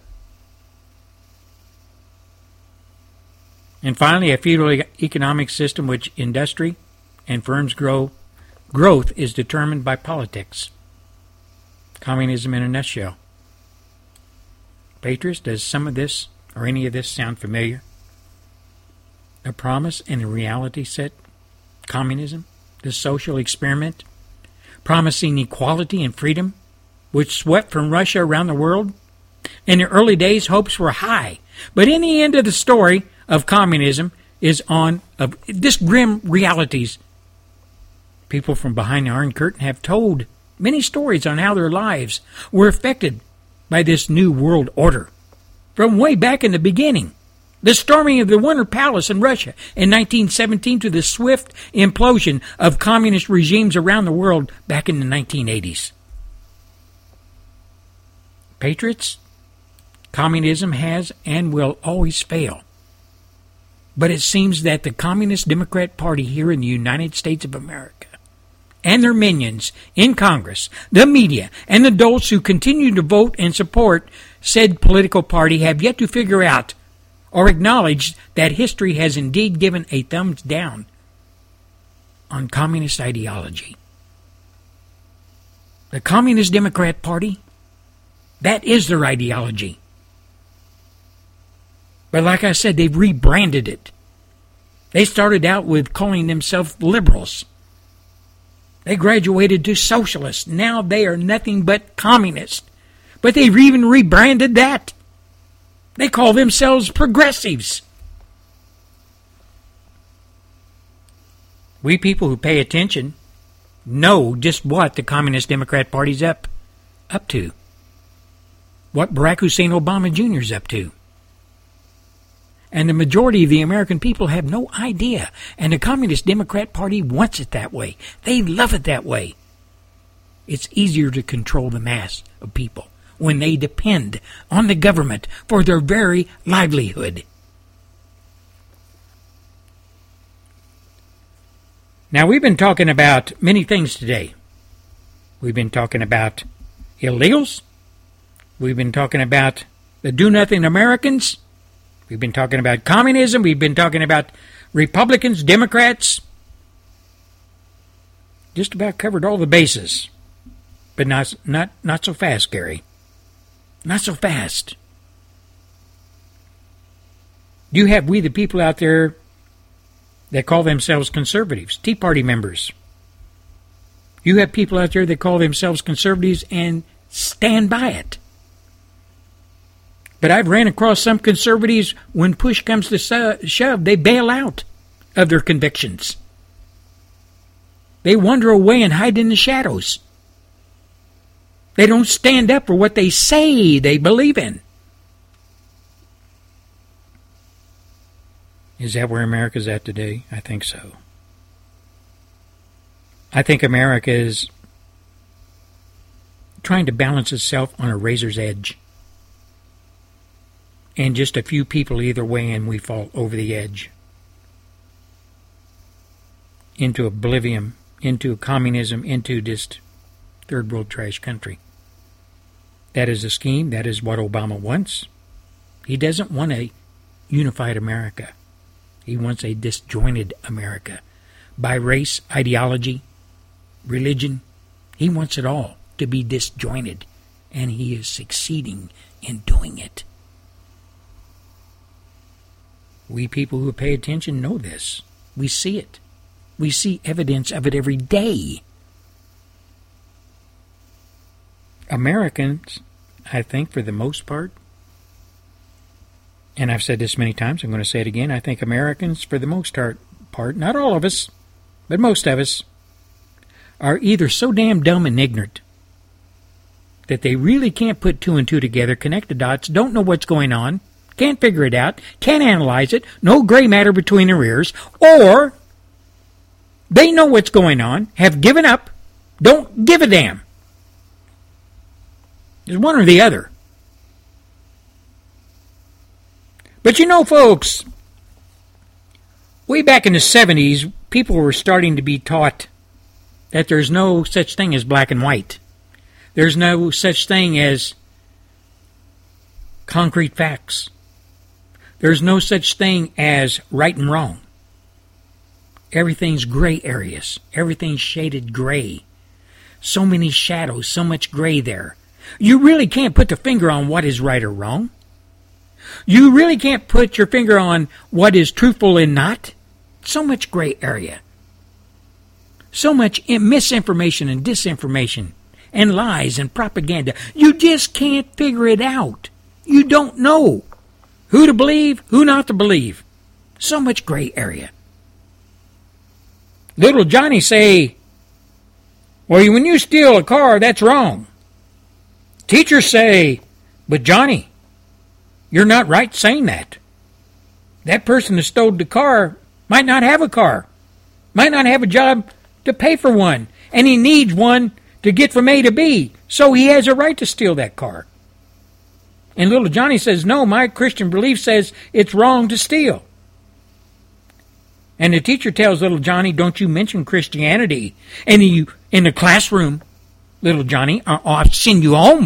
And finally, a feudal economic system which industry and firms growth is determined by politics. Communism in a nutshell. Patriots, does some of this or any of this sound familiar? The promise and the reality set, communism, the social experiment, promising equality and freedom, which swept from Russia around the world. In the early days, hopes were high, but in the end of the story of communism is on of this grim realities. People from behind the Iron Curtain have told many stories on how their lives were affected by this new world order. From way back in the beginning, the storming of the Winter Palace in Russia in 1917 to the swift implosion of communist regimes around the world back in the 1980s. Patriots, communism has and will always fail. But it seems that the Communist Democrat Party here in the United States of America and their minions in Congress, the media, and the adults who continue to vote and support said political party have yet to figure out or acknowledge that history has indeed given a thumbs down on communist ideology. The Communist Democrat Party, that is their ideology. But like I said, they've rebranded it. They started out with calling themselves liberals. They graduated to socialists. Now they are nothing but communists. But they've even rebranded that. They call themselves progressives. We people who pay attention know just what the Communist Democrat Party's up to. What Barack Hussein Obama Jr. is up to. And the majority of the American people have no idea. And the Communist Democrat Party wants it that way. They love it that way. It's easier to control the mass of people when they depend on the government for their very livelihood. Now, we've been talking about many things today. We've been talking about illegals. We've been talking about the do-nothing Americans. We've been talking about communism. We've been talking about Republicans, Democrats. Just about covered all the bases. But not so fast, Gary. Not so fast. You have we the people out there that call themselves conservatives, Tea Party members. You have people out there that call themselves conservatives and stand by it. But I've ran across some conservatives, when push comes to shove, they bail out of their convictions. They wander away and hide in the shadows. They don't stand up for what they say they believe in. Is that where America's at today? I think so. I think America is trying to balance itself on a razor's edge. And just a few people either way, and we fall over the edge. Into oblivion, into communism, into just third world trash country. That is a scheme. That is what Obama wants. He doesn't want a unified America. He wants a disjointed America. By race, ideology, religion, he wants it all to be disjointed. And he is succeeding in doing it. We people who pay attention know this. We see it. We see evidence of it every day. Americans, I think for the most part, and I've said this many times, I'm going to say it again, I think Americans for the most part, not all of us, but most of us, are either so damn dumb and ignorant that they really can't put two and two together, connect the dots, don't know what's going on, can't figure it out, can't analyze it, no gray matter between their ears, or they know what's going on, have given up, don't give a damn. There's one or the other. But you know, folks, way back in the 70s, people were starting to be taught that there's no such thing as black and white. There's no such thing as concrete facts. There's no such thing as right and wrong. Everything's gray areas. Everything's shaded gray. So many shadows, so much gray there. You really can't put the finger on what is right or wrong. You really can't put your finger on what is truthful and not. So much gray area. So much misinformation and disinformation and lies and propaganda. You just can't figure it out. You don't know who to believe, who not to believe. So much gray area. Little Johnny say, well, when you steal a car, that's wrong. Teachers say, but Johnny, you're not right saying that. That person that stole the car might not have a car, might not have a job to pay for one, and he needs one to get from A to B, so he has a right to steal that car. And little Johnny says, no, my Christian belief says it's wrong to steal. And the teacher tells little Johnny, don't you mention Christianity in the classroom, little Johnny, or I'll send you home.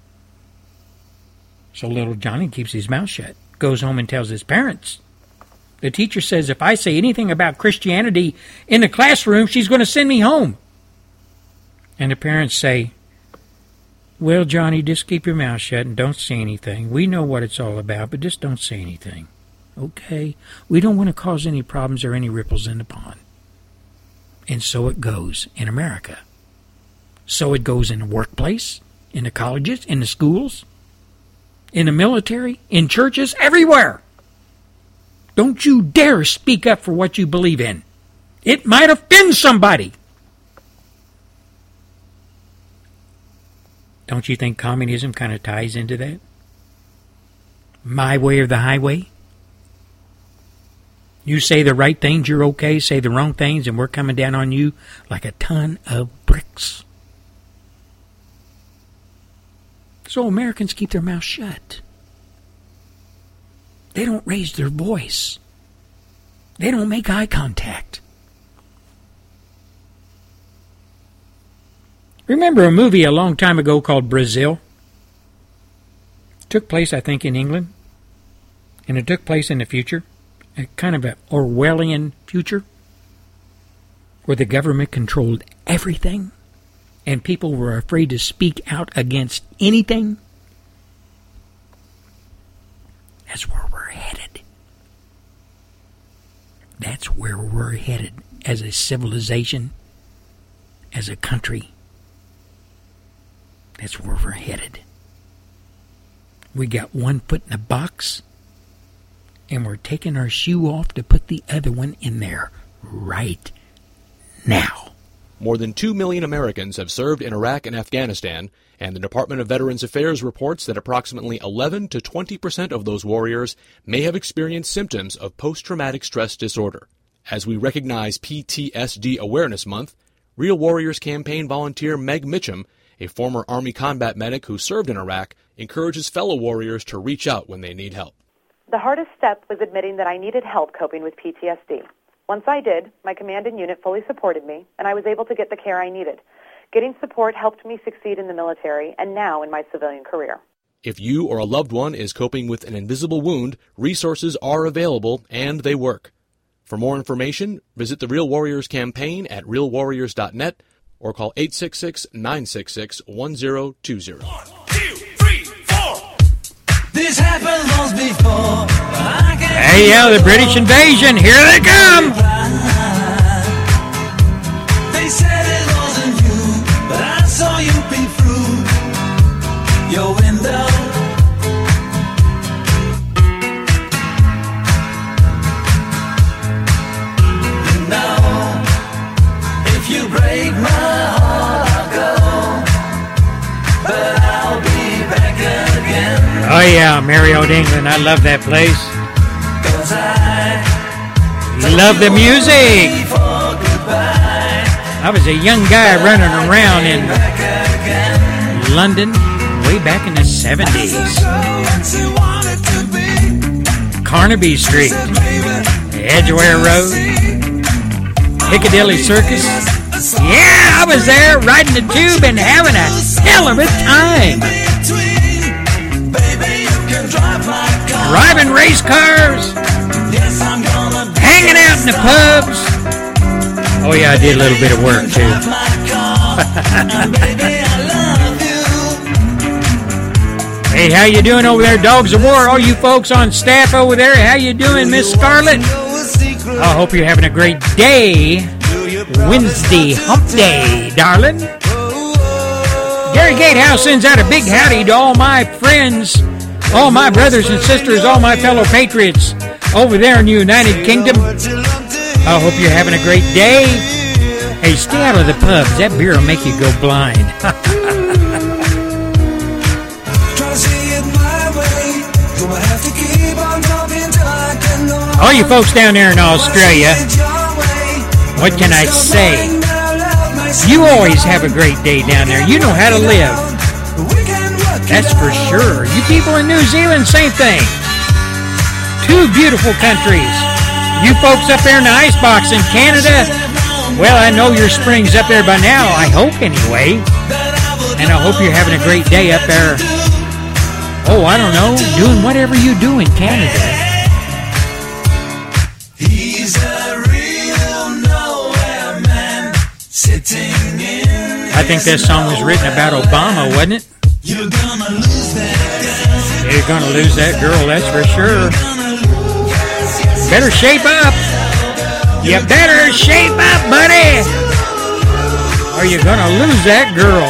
So little Johnny keeps his mouth shut, goes home and tells his parents. The teacher says, if I say anything about Christianity in the classroom, she's going to send me home. And the parents say, well, Johnny, just keep your mouth shut and don't say anything. We know what it's all about, but just don't say anything. Okay? We don't want to cause any problems or any ripples in the pond. And so it goes in America. So it goes in the workplace, in the colleges, in the schools, in the military, in churches, everywhere. Don't you dare speak up for what you believe in. It might offend somebody. Don't you think communism kind of ties into that? My way or the highway? You say the right things, you're okay. Say the wrong things, and we're coming down on you like a ton of bricks. So Americans keep their mouths shut. They don't raise their voice. They don't make eye contact. Remember a movie a long time ago called Brazil? It took place, I think, in England. And it took place in the future. A kind of an Orwellian future. Where the government controlled everything. And people were afraid to speak out against anything. That's where we're headed. That's where we're headed as a civilization. as a country, that's where we're headed. We got one foot in a box, and we're taking our shoe off to put the other one in there right now. More than 2 million Americans have served in Iraq and Afghanistan, and the Department of Veterans Affairs reports that approximately 11 to 20% of those warriors may have experienced symptoms of post-traumatic stress disorder. As we recognize PTSD Awareness Month, Real Warriors campaign volunteer Meg Mitchum, a former Army combat medic who served in Iraq, encourages fellow warriors to reach out when they need help. The hardest step was admitting that I needed help coping with PTSD. Once I did, my command and unit fully supported me, and I was able to get the care I needed. Getting support helped me succeed in the military and now in my civilian career. If you or a loved one is coping with an invisible wound, resources are available and they work. For more information, visit the Real Warriors campaign at realwarriors.net or call 866-966-1020. 1, 2, 3, 4. This happened once before. Hey, yeah, the British invasion. Here they come. They said it wasn't you, but I saw you peek through your window. You know, if you break my heart, I'll go, but I'll be back again. Oh, yeah, Merry Old England. I love that place. Love the music. I was a young guy running around in London way back in the 70s. Carnaby Street, Edgware Road, Piccadilly Circus. Yeah, I was there riding the tube and having a hell of a time. Driving race cars. Hanging out in the pubs. Oh yeah, I did a little bit of work too. Hey, how you doing over there, Dogs of War? All you folks on staff over there, how you doing, Miss Scarlett? I hope you're having a great day. Wednesday, hump day, darling. Gary Gatehouse sends out a big howdy to all my friends, all my brothers and sisters, all my fellow patriots over there in the United Kingdom. I hope you're having a great day. Hey, stay out of the pubs. That beer will make you go blind. All you folks down there in Australia, what can I say? You always have a great day down there. You know how to live. That's for sure. You people in New Zealand, same thing. Two beautiful countries. You folks up there in the icebox in Canada, well, I know your spring's up there by now, I hope anyway. And I hope you're having a great day up there. Oh, I don't know, doing whatever you do in Canada. He's a real nowhere man sitting in. I think this song was written about Obama, wasn't it? You're gonna lose that girl. You're gonna lose that girl, that's for sure. Better shape up. You better shape up, buddy, or you're gonna lose that girl.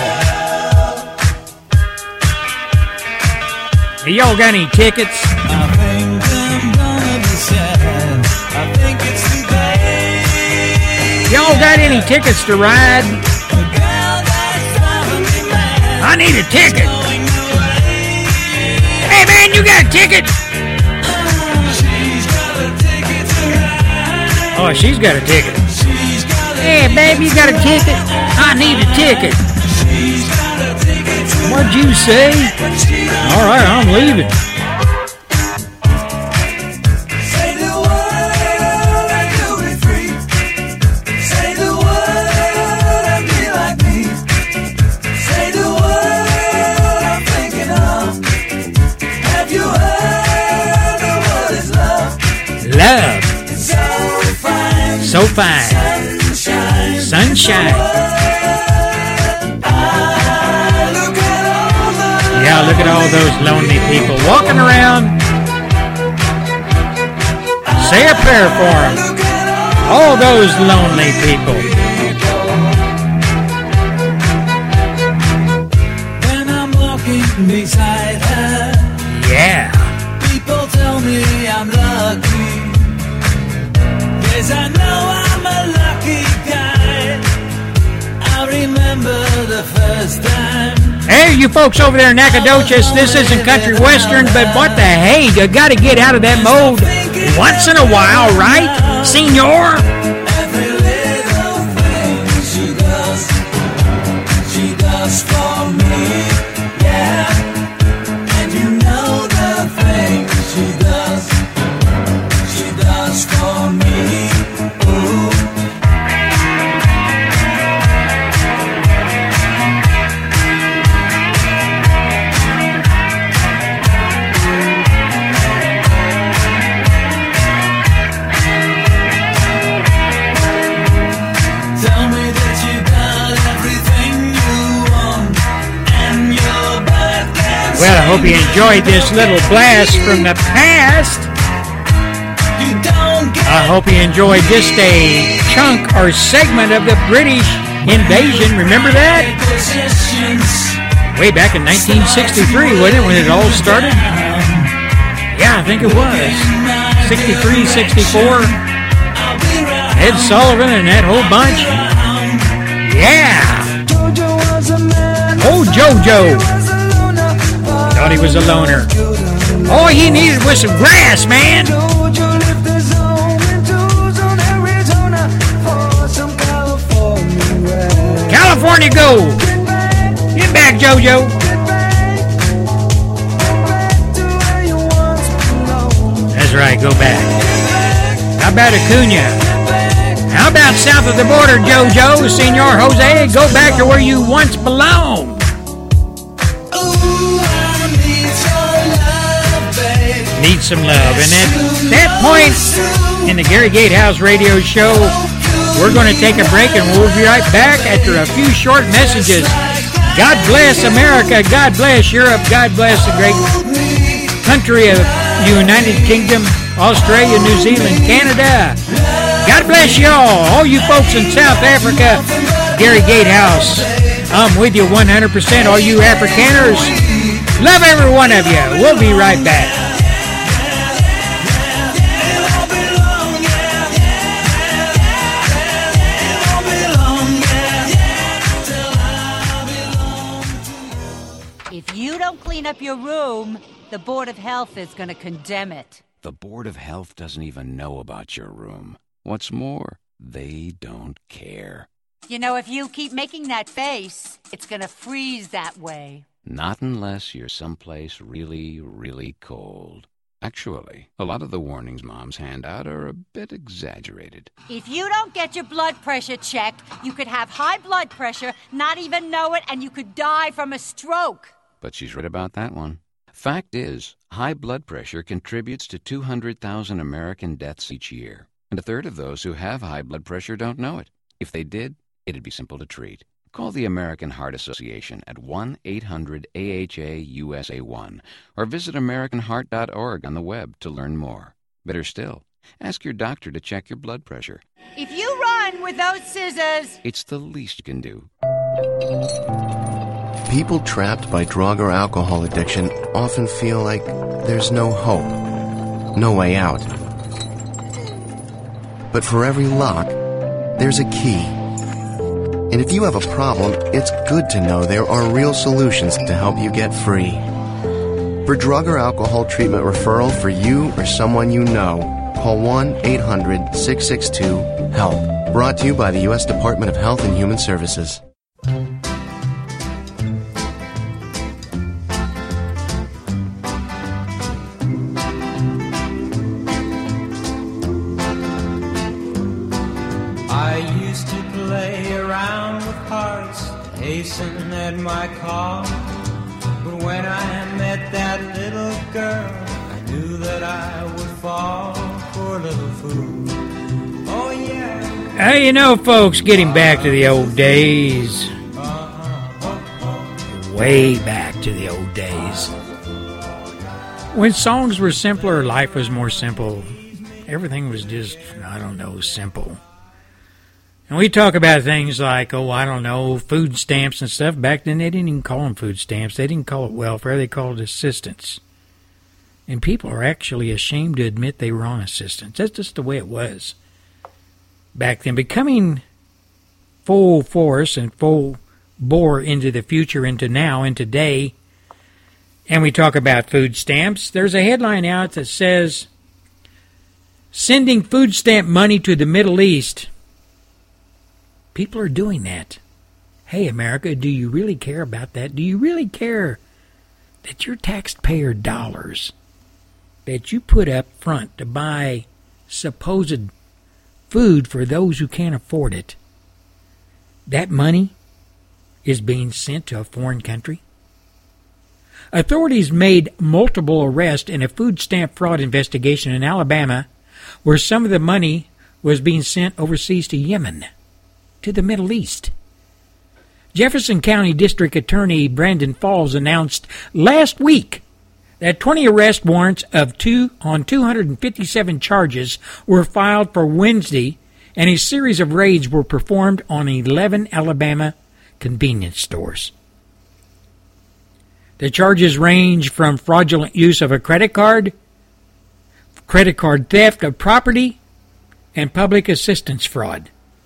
Hey, y'all got any tickets? Y'all got any tickets to ride? I need a ticket. Hey man, you got a ticket? Oh, she's got a ticket. Hey baby, you got a ticket? I need a ticket. What'd you say? All right, I'm leaving. Love. So fine. Sunshine. Yeah, look at all those lonely people walking around. Say a prayer for them. All those lonely people. beside her. Yeah. People tell me I'm lucky. Yes, I know I'm a lucky guy. I remember the first time. Hey, you folks over there in Nacogdoches, this isn't country western, but what the hey, you gotta get out of that mode once in a while, right, senor? Every little thing she does for me, yeah. And you know the things she does for me, ooh. Well, I hope you enjoyed this little blast from the past. I hope you enjoyed just a chunk or segment of the British invasion. Remember that? Way back in 1963, wasn't it, when it all started? Yeah, I think it was. 63, 64. Ed Sullivan and that whole bunch. Yeah. Oh, JoJo. Thought he was a loner. All he needed was some grass, man. California gold. Get back, JoJo. That's right, go back. How about Acuna? How about south of the border, JoJo, Senor Jose? Go back to where you once belonged. Need some love. And at that point in the Gary Gatehouse radio show, we're going to take a break and we'll be right back after a few short messages. God bless America. God bless Europe. God bless the great country of United Kingdom, Australia, New Zealand, Canada. God bless y'all. All you folks in South Africa, Gary Gatehouse, I'm with you 100%. All you Afrikaners, love every one of you. We'll be right back. Clean up your room, the Board of Health is going to condemn it. The Board of Health doesn't even know about your room. What's more, they don't care. You know, if you keep making that face, it's going to freeze that way. Not unless you're someplace really, really cold. Actually, a lot of the warnings moms hand out are a bit exaggerated. If you don't get your blood pressure checked, you could have high blood pressure, not even know it, and you could die from a stroke. But she's right about that one. Fact is, high blood pressure contributes to 200,000 American deaths each year. And a third of those who have high blood pressure don't know it. If they did, it'd be simple to treat. Call the American Heart Association at 1-800-AHA-USA1 or visit AmericanHeart.org on the web to learn more. Better still, ask your doctor to check your blood pressure. If you run with those scissors, it's the least you can do. People trapped by drug or alcohol addiction often feel like there's no hope, no way out. But for every lock, there's a key. And if you have a problem, it's good to know there are real solutions to help you get free. For drug or alcohol treatment referral for you or someone you know, call 1-800-662-HELP. Brought to you by the U.S. Department of Health and Human Services. Hasten at my call, but when I met that little girl, I knew that I would fall for a little fool. Oh yeah. Hey, you know, folks, getting back to the old days, way back to the old days, when songs were simpler, life was more simple. Everything was just, I don't know, simple. And we talk about things like, food stamps and stuff. Back then, they didn't even call them food stamps. They didn't call it welfare. They called it assistance. And people are actually ashamed to admit they were on assistance. That's just the way it was back then. Becoming full force and full bore into the future, into now, and today, and we talk about food stamps. There's a headline out that says, sending food stamp money to the Middle East. People are doing that. Hey, America, do you really care about that? Do you really care that your taxpayer dollars that you put up front to buy supposed food for those who can't afford it, that money is being sent to a foreign country? Authorities made multiple arrests in a food stamp fraud investigation in Alabama, where some of the money was being sent overseas to Yemen, to the Middle East. Jefferson County District Attorney Brandon Falls announced last week that 20 arrest warrants on 257 charges were filed for Wednesday, and a series of raids were performed on 11 Alabama convenience stores. The charges range from fraudulent use of a credit card theft of property, and public assistance fraud.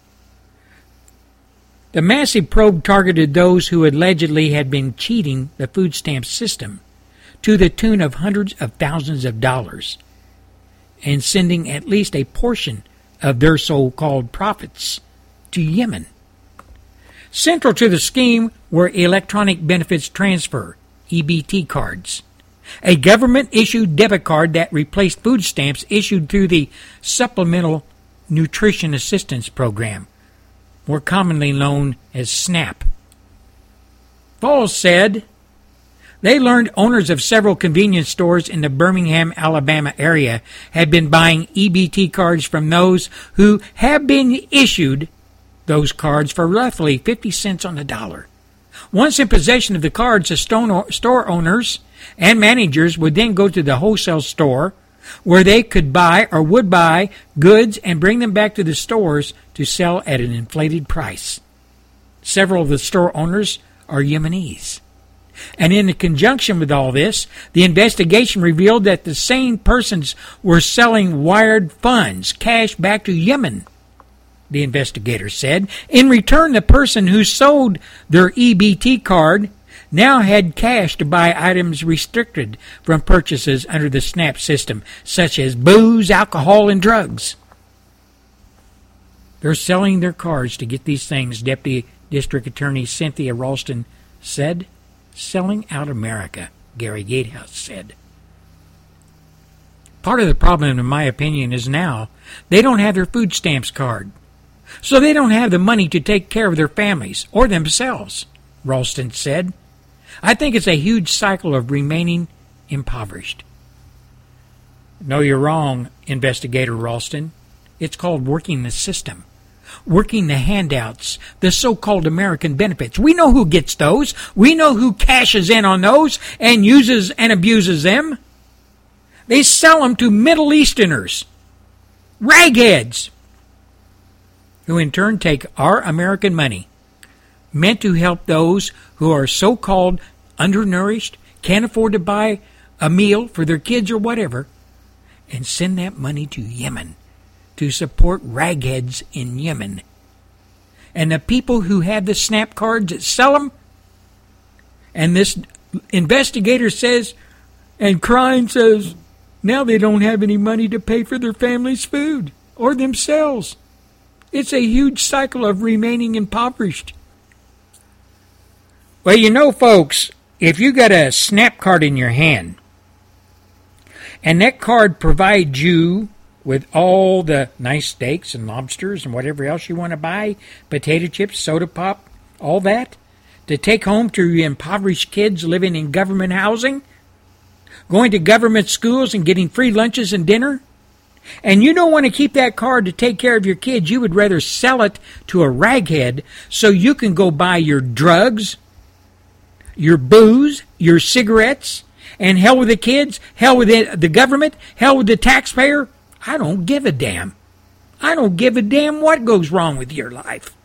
The massive probe targeted those who allegedly had been cheating the food stamp system to the tune of hundreds of thousands of dollars and sending at least a portion of their so-called profits to Yemen. Central to the scheme were electronic benefits transfer, EBT cards, a government-issued debit card that replaced food stamps issued through the Supplemental Nutrition Assistance Program, more commonly known as SNAP. Falls said they learned owners of several convenience stores in the Birmingham, Alabama area had been buying EBT cards from those who have been issued those cards for roughly 50 cents on the dollar. Once in possession of the cards, the store owners and managers would then go to the wholesale store where they could buy or would buy goods and bring them back to the stores to sell at an inflated price. Several of the store owners are Yemenis. And in conjunction with all this, the investigation revealed that the same persons were selling wired funds, cash back to Yemen, the investigator said. In return, the person who sold their EBT card now had cash to buy items restricted from purchases under the SNAP system, such as booze, alcohol, and drugs. They're selling their cards to get these things, Deputy District Attorney Cynthia Ralston said. Selling out America, Gary Gatehouse said. Part of the problem, in my opinion, is now they don't have their food stamps card. So they don't have the money to take care of their families or themselves, Ralston said. I think it's a huge cycle of remaining impoverished. No, you're wrong, Investigator Ralston. It's called working the system. Working the handouts, the so-called American benefits. We know who gets those. We know who cashes in on those and uses and abuses them. They sell them to Middle Easterners, ragheads, who in turn take our American money, meant to help those who are so-called undernourished, can't afford to buy a meal for their kids or whatever, and send that money to Yemen to support ragheads in Yemen. And the people who have the SNAP cards that sell them, and this investigator says, and crying says, now they don't have any money to pay for their family's food or themselves. It's a huge cycle of remaining impoverished. Well, you know, folks, if you got a SNAP card in your hand, and that card provides you with all the nice steaks and lobsters and whatever else you want to buy, potato chips, soda pop, all that, to take home to your impoverished kids living in government housing, going to government schools and getting free lunches and dinner, and you don't want to keep that card to take care of your kids, you would rather sell it to a raghead so you can go buy your drugs, your booze, your cigarettes, and hell with the kids, hell with the government, hell with the taxpayer. I don't give a damn. I don't give a damn what goes wrong with your life.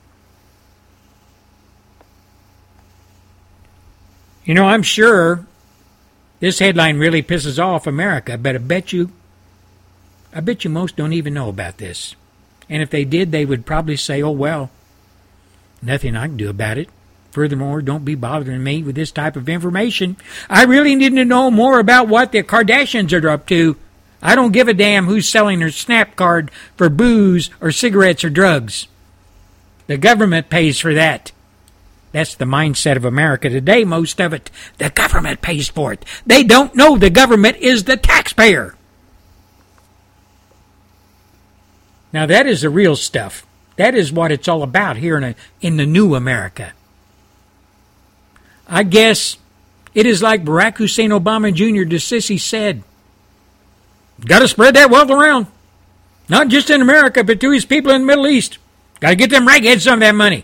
You know, I'm sure this headline really pisses off America, but I bet you most don't even know about this. And if they did, they would probably say, oh, well, nothing I can do about it. Furthermore, don't be bothering me with this type of information. I really need to know more about what the Kardashians are up to. I don't give a damn who's selling their Snap card for booze or cigarettes or drugs. The government pays for that. That's the mindset of America today, most of it. The government pays for it. They don't know the government is the taxpayer. Now, that is the real stuff. That is what it's all about here in the new America. I guess it is like Barack Hussein Obama Jr. to Sissy said. Got to spread that wealth around. Not just in America, but to his people in the Middle East. Got to get them ragheads some of that money.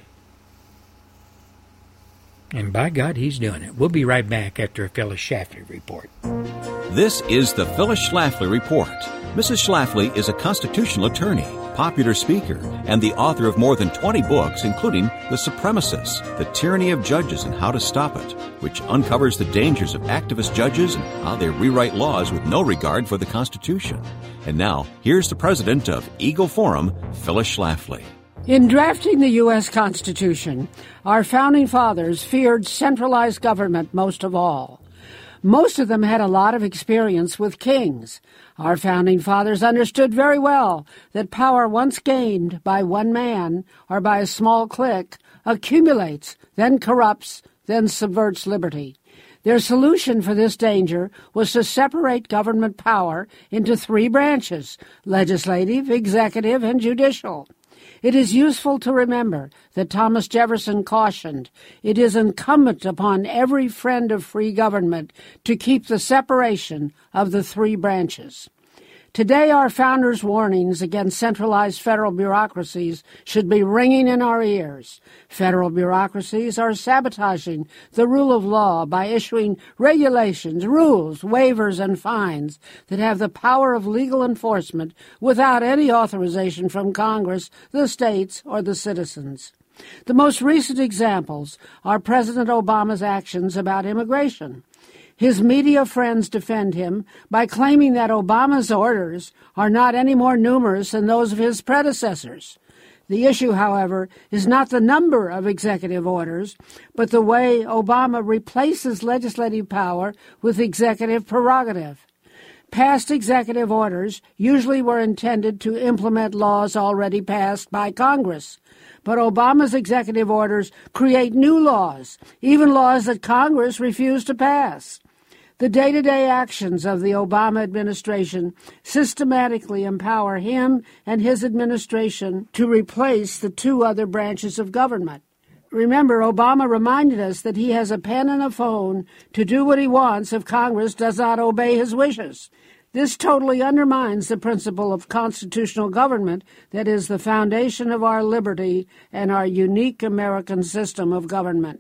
And by God, he's doing it. We'll be right back after a Phyllis Schlafly report. This is the Phyllis Schlafly Report. Mrs. Schlafly is a constitutional attorney, popular speaker, and the author of more than 20 books, including The Supremacists, The Tyranny of Judges and How to Stop It, which uncovers the dangers of activist judges and how they rewrite laws with no regard for the Constitution. And now, here's the president of Eagle Forum, Phyllis Schlafly. In drafting the U.S. Constitution, our founding fathers feared centralized government most of all. Most of them had a lot of experience with kings. Our founding fathers understood very well that power once gained by one man or by a small clique accumulates, then corrupts, then subverts liberty. Their solution for this danger was to separate government power into three branches: legislative, executive, and judicial. It is useful to remember that Thomas Jefferson cautioned, it is incumbent upon every friend of free government to keep the separation of the three branches. Today, our founders' warnings against centralized federal bureaucracies should be ringing in our ears. Federal bureaucracies are sabotaging the rule of law by issuing regulations, rules, waivers, and fines that have the power of legal enforcement without any authorization from Congress, the states, or the citizens. The most recent examples are President Obama's actions about immigration. His media friends defend him by claiming that Obama's orders are not any more numerous than those of his predecessors. The issue, however, is not the number of executive orders, but the way Obama replaces legislative power with executive prerogative. Past executive orders usually were intended to implement laws already passed by Congress. But Obama's executive orders create new laws, even laws that Congress refused to pass. The day-to-day actions of the Obama administration systematically empower him and his administration to replace the two other branches of government. Remember, Obama reminded us that he has a pen and a phone to do what he wants if Congress does not obey his wishes. This totally undermines the principle of constitutional government that is the foundation of our liberty and our unique American system of government.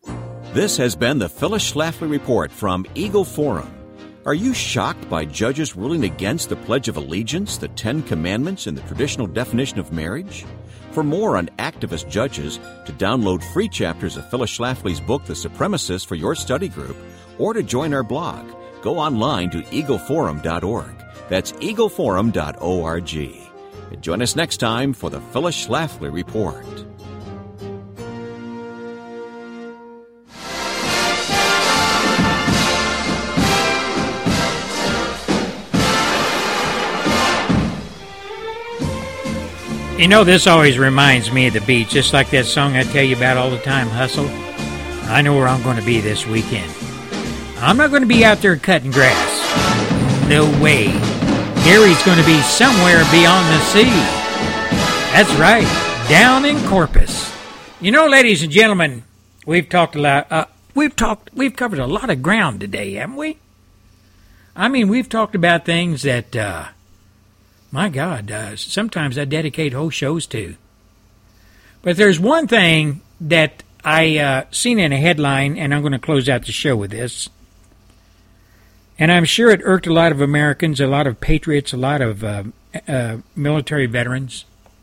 This has been the Phyllis Schlafly Report from Eagle Forum. Are you shocked by judges ruling against the Pledge of Allegiance, the Ten Commandments, and the traditional definition of marriage? For more on activist judges, to download free chapters of Phyllis Schlafly's book, The Supremacists, for your study group, or to join our blog, go online to eagleforum.org. That's eagleforum.org. And join us next time for the Phyllis Schlafly Report. You know, this always reminds me of the beach, just like that song I tell you about all the time, Hustle. I know where I'm going to be this weekend. I'm not going to be out there cutting grass. No way. Gary's going to be somewhere beyond the sea. That's right, down in Corpus. You know, ladies and gentlemen, we've talked a lot. We've covered a lot of ground today, haven't we? I mean, we've talked about things that, my God, sometimes I dedicate whole shows to. But there's one thing that I seen in a headline, and I'm going to close out the show with this. And I'm sure it irked a lot of Americans, a lot of patriots, a lot of military veterans.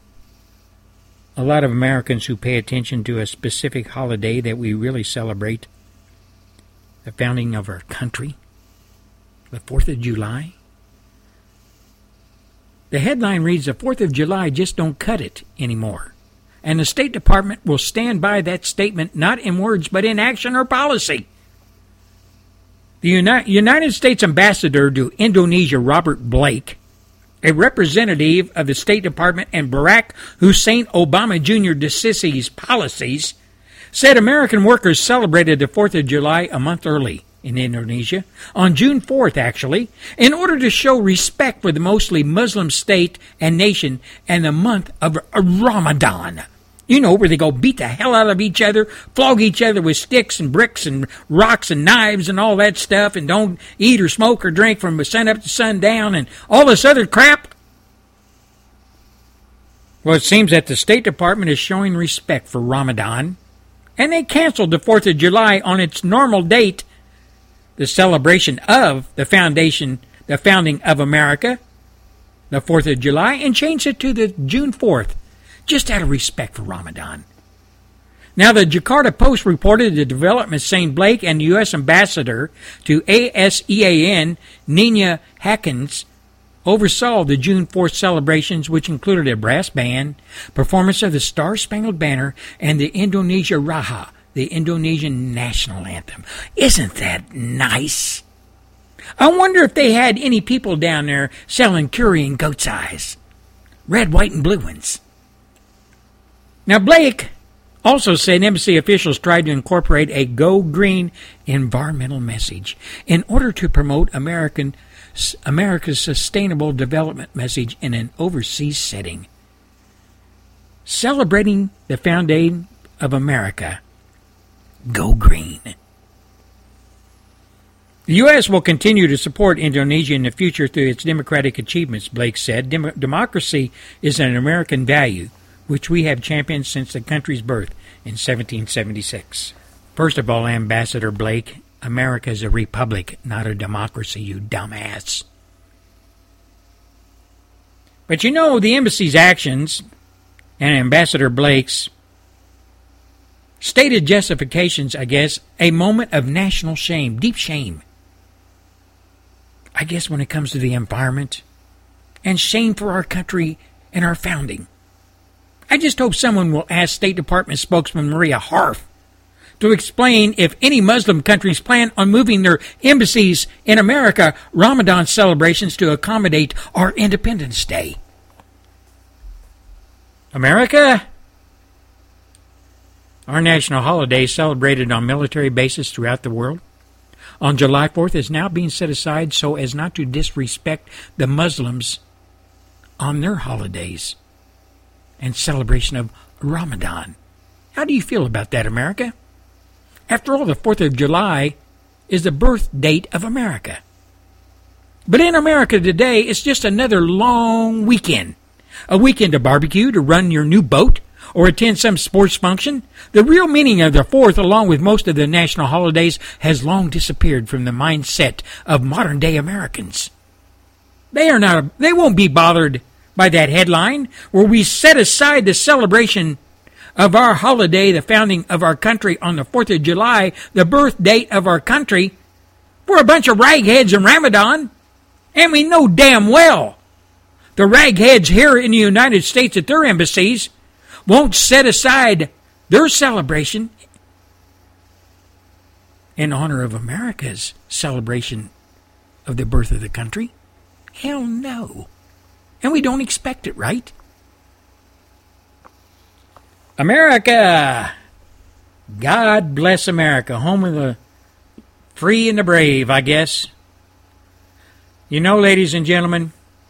a lot of Americans who pay attention to a specific holiday that we really celebrate, the founding of our country, the 4th of July. The headline reads, "The 4th of July just don't cut it anymore." And the State Department will stand by that statement, not in words, but in action or policy. The United States Ambassador to Indonesia, Robert Blake, a representative of the State Department and Barack Hussein Obama Jr. DeSisi's policies, said American workers celebrated the 4th of July a month early in Indonesia, on June 4th actually, in order to show respect for the mostly Muslim state and nation and the month of Ramadan. You know, where they go beat the hell out of each other, flog each other with sticks and bricks and rocks and knives and all that stuff, and don't eat or smoke or drink from sun up to sundown and all this other crap. Well, it seems that the State Department is showing respect for Ramadan, and they canceled the 4th of July on its normal date, the celebration of the founding of America, the 4th of July, and changed it to the June 4th. Just out of respect for Ramadan. Now, the Jakarta Post reported the development saying Blake and the U.S. Ambassador to ASEAN, Nina Hakins, oversaw the June 4th celebrations, which included a brass band, performance of the Star-Spangled Banner, and the Indonesia Raya, the Indonesian national anthem. Isn't that nice? I wonder if they had any people down there selling curry and goat's eyes. Red, white, and blue ones. Now, Blake also said embassy officials tried to incorporate a Go Green environmental message in order to promote America's sustainable development message in an overseas setting. Celebrating the founding of America. Go Green. The U.S. will continue to support Indonesia in the future through its democratic achievements, Blake said. Democracy is an American value, which we have championed since the country's birth in 1776. First of all, Ambassador Blake, America is a republic, not a democracy, you dumbass. But you know, the embassy's actions and Ambassador Blake's stated justifications, I guess, a moment of national shame, deep shame. I guess when it comes to the environment and shame for our country and our founding. I just hope someone will ask State Department spokesman Maria Harf to explain if any Muslim countries plan on moving their embassies in America Ramadan celebrations to accommodate our Independence Day. America, our national holiday celebrated on military bases throughout the world, on July 4th is now being set aside so as not to disrespect the Muslims on their holidays and celebration of Ramadan. How do you feel about that, America? After all, the 4th of July is the birth date of America. But in America today, it's just another long weekend. A weekend to barbecue, to run your new boat, or attend some sports function. The real meaning of the 4th, along with most of the national holidays, has long disappeared from the mindset of modern-day Americans. They won't be bothered by that headline, where we set aside the celebration of our holiday, the founding of our country on the 4th of July, the birth date of our country, for a bunch of ragheads in Ramadan. And we know damn well the ragheads here in the United States at their embassies won't set aside their celebration in honor of America's celebration of the birth of the country. Hell no. And we don't expect it, right? America! God bless America, home of the free and the brave, I guess. You know, ladies and gentlemen,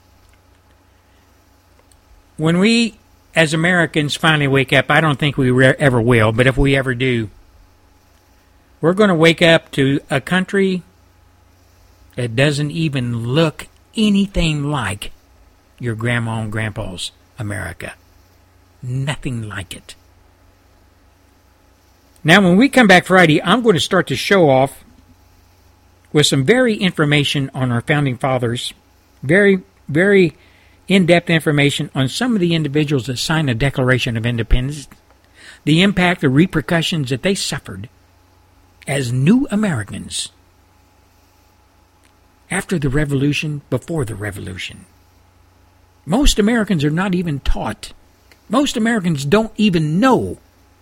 when we, as Americans, finally wake up, I don't think we ever will, but if we ever do, we're going to wake up to a country that doesn't even look anything like your grandma and grandpa's America. Nothing like it. Now, when we come back Friday, I'm going to start to show off with some very information on our founding fathers. Very, very in-depth information on some of the individuals that signed the Declaration of Independence, the impact, the repercussions that they suffered as new Americans after the Revolution, before the Revolution. Most Americans are not even taught. Most Americans don't even know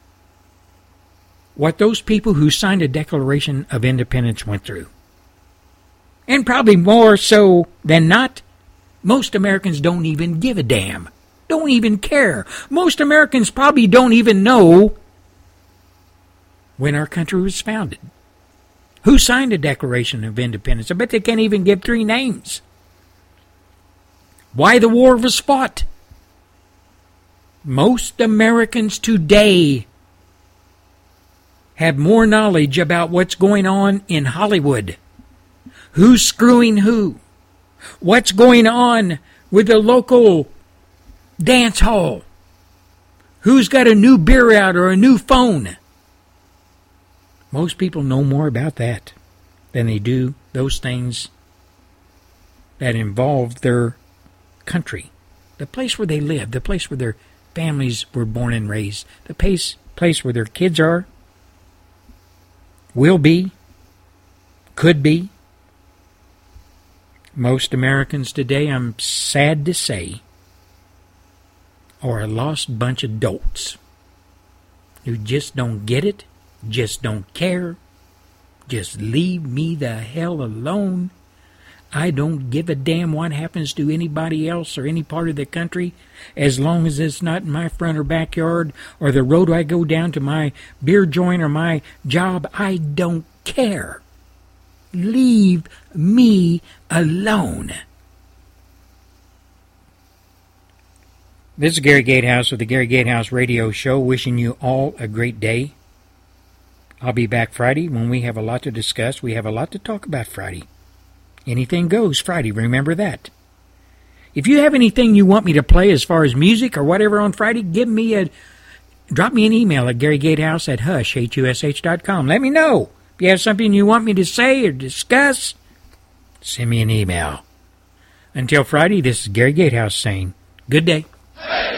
what those people who signed a Declaration of Independence went through. And probably more so than not, most Americans don't even give a damn. Don't even care. Most Americans probably don't even know when our country was founded. Who signed the Declaration of Independence? I bet they can't even give 3 names. Why the war was fought. Most Americans today have more knowledge about what's going on in Hollywood. Who's screwing who? What's going on with the local dance hall? Who's got a new beer out or a new phone? Most people know more about that than they do those things that involve their country, the place where they live, the place where their families were born and raised, the place where their kids are, will be, could be. Most Americans today, I'm sad to say, are a lost bunch of dolts who just don't get it, just don't care, just leave me the hell alone. I don't give a damn what happens to anybody else or any part of the country as long as it's not in my front or backyard or the road I go down to my beer joint or my job. I don't care. Leave me alone. This is Gary Gatehouse with the Gary Gatehouse Radio Show, wishing you all a great day. I'll be back Friday when we have a lot to discuss. We have a lot to talk about Friday. Anything goes Friday, remember that. If you have anything you want me to play as far as music or whatever on Friday, drop me an email at GaryGatehouse@hush.com. Let me know. If you have something you want me to say or discuss, send me an email. Until Friday, this is Gary Gatehouse saying, good day. Hey!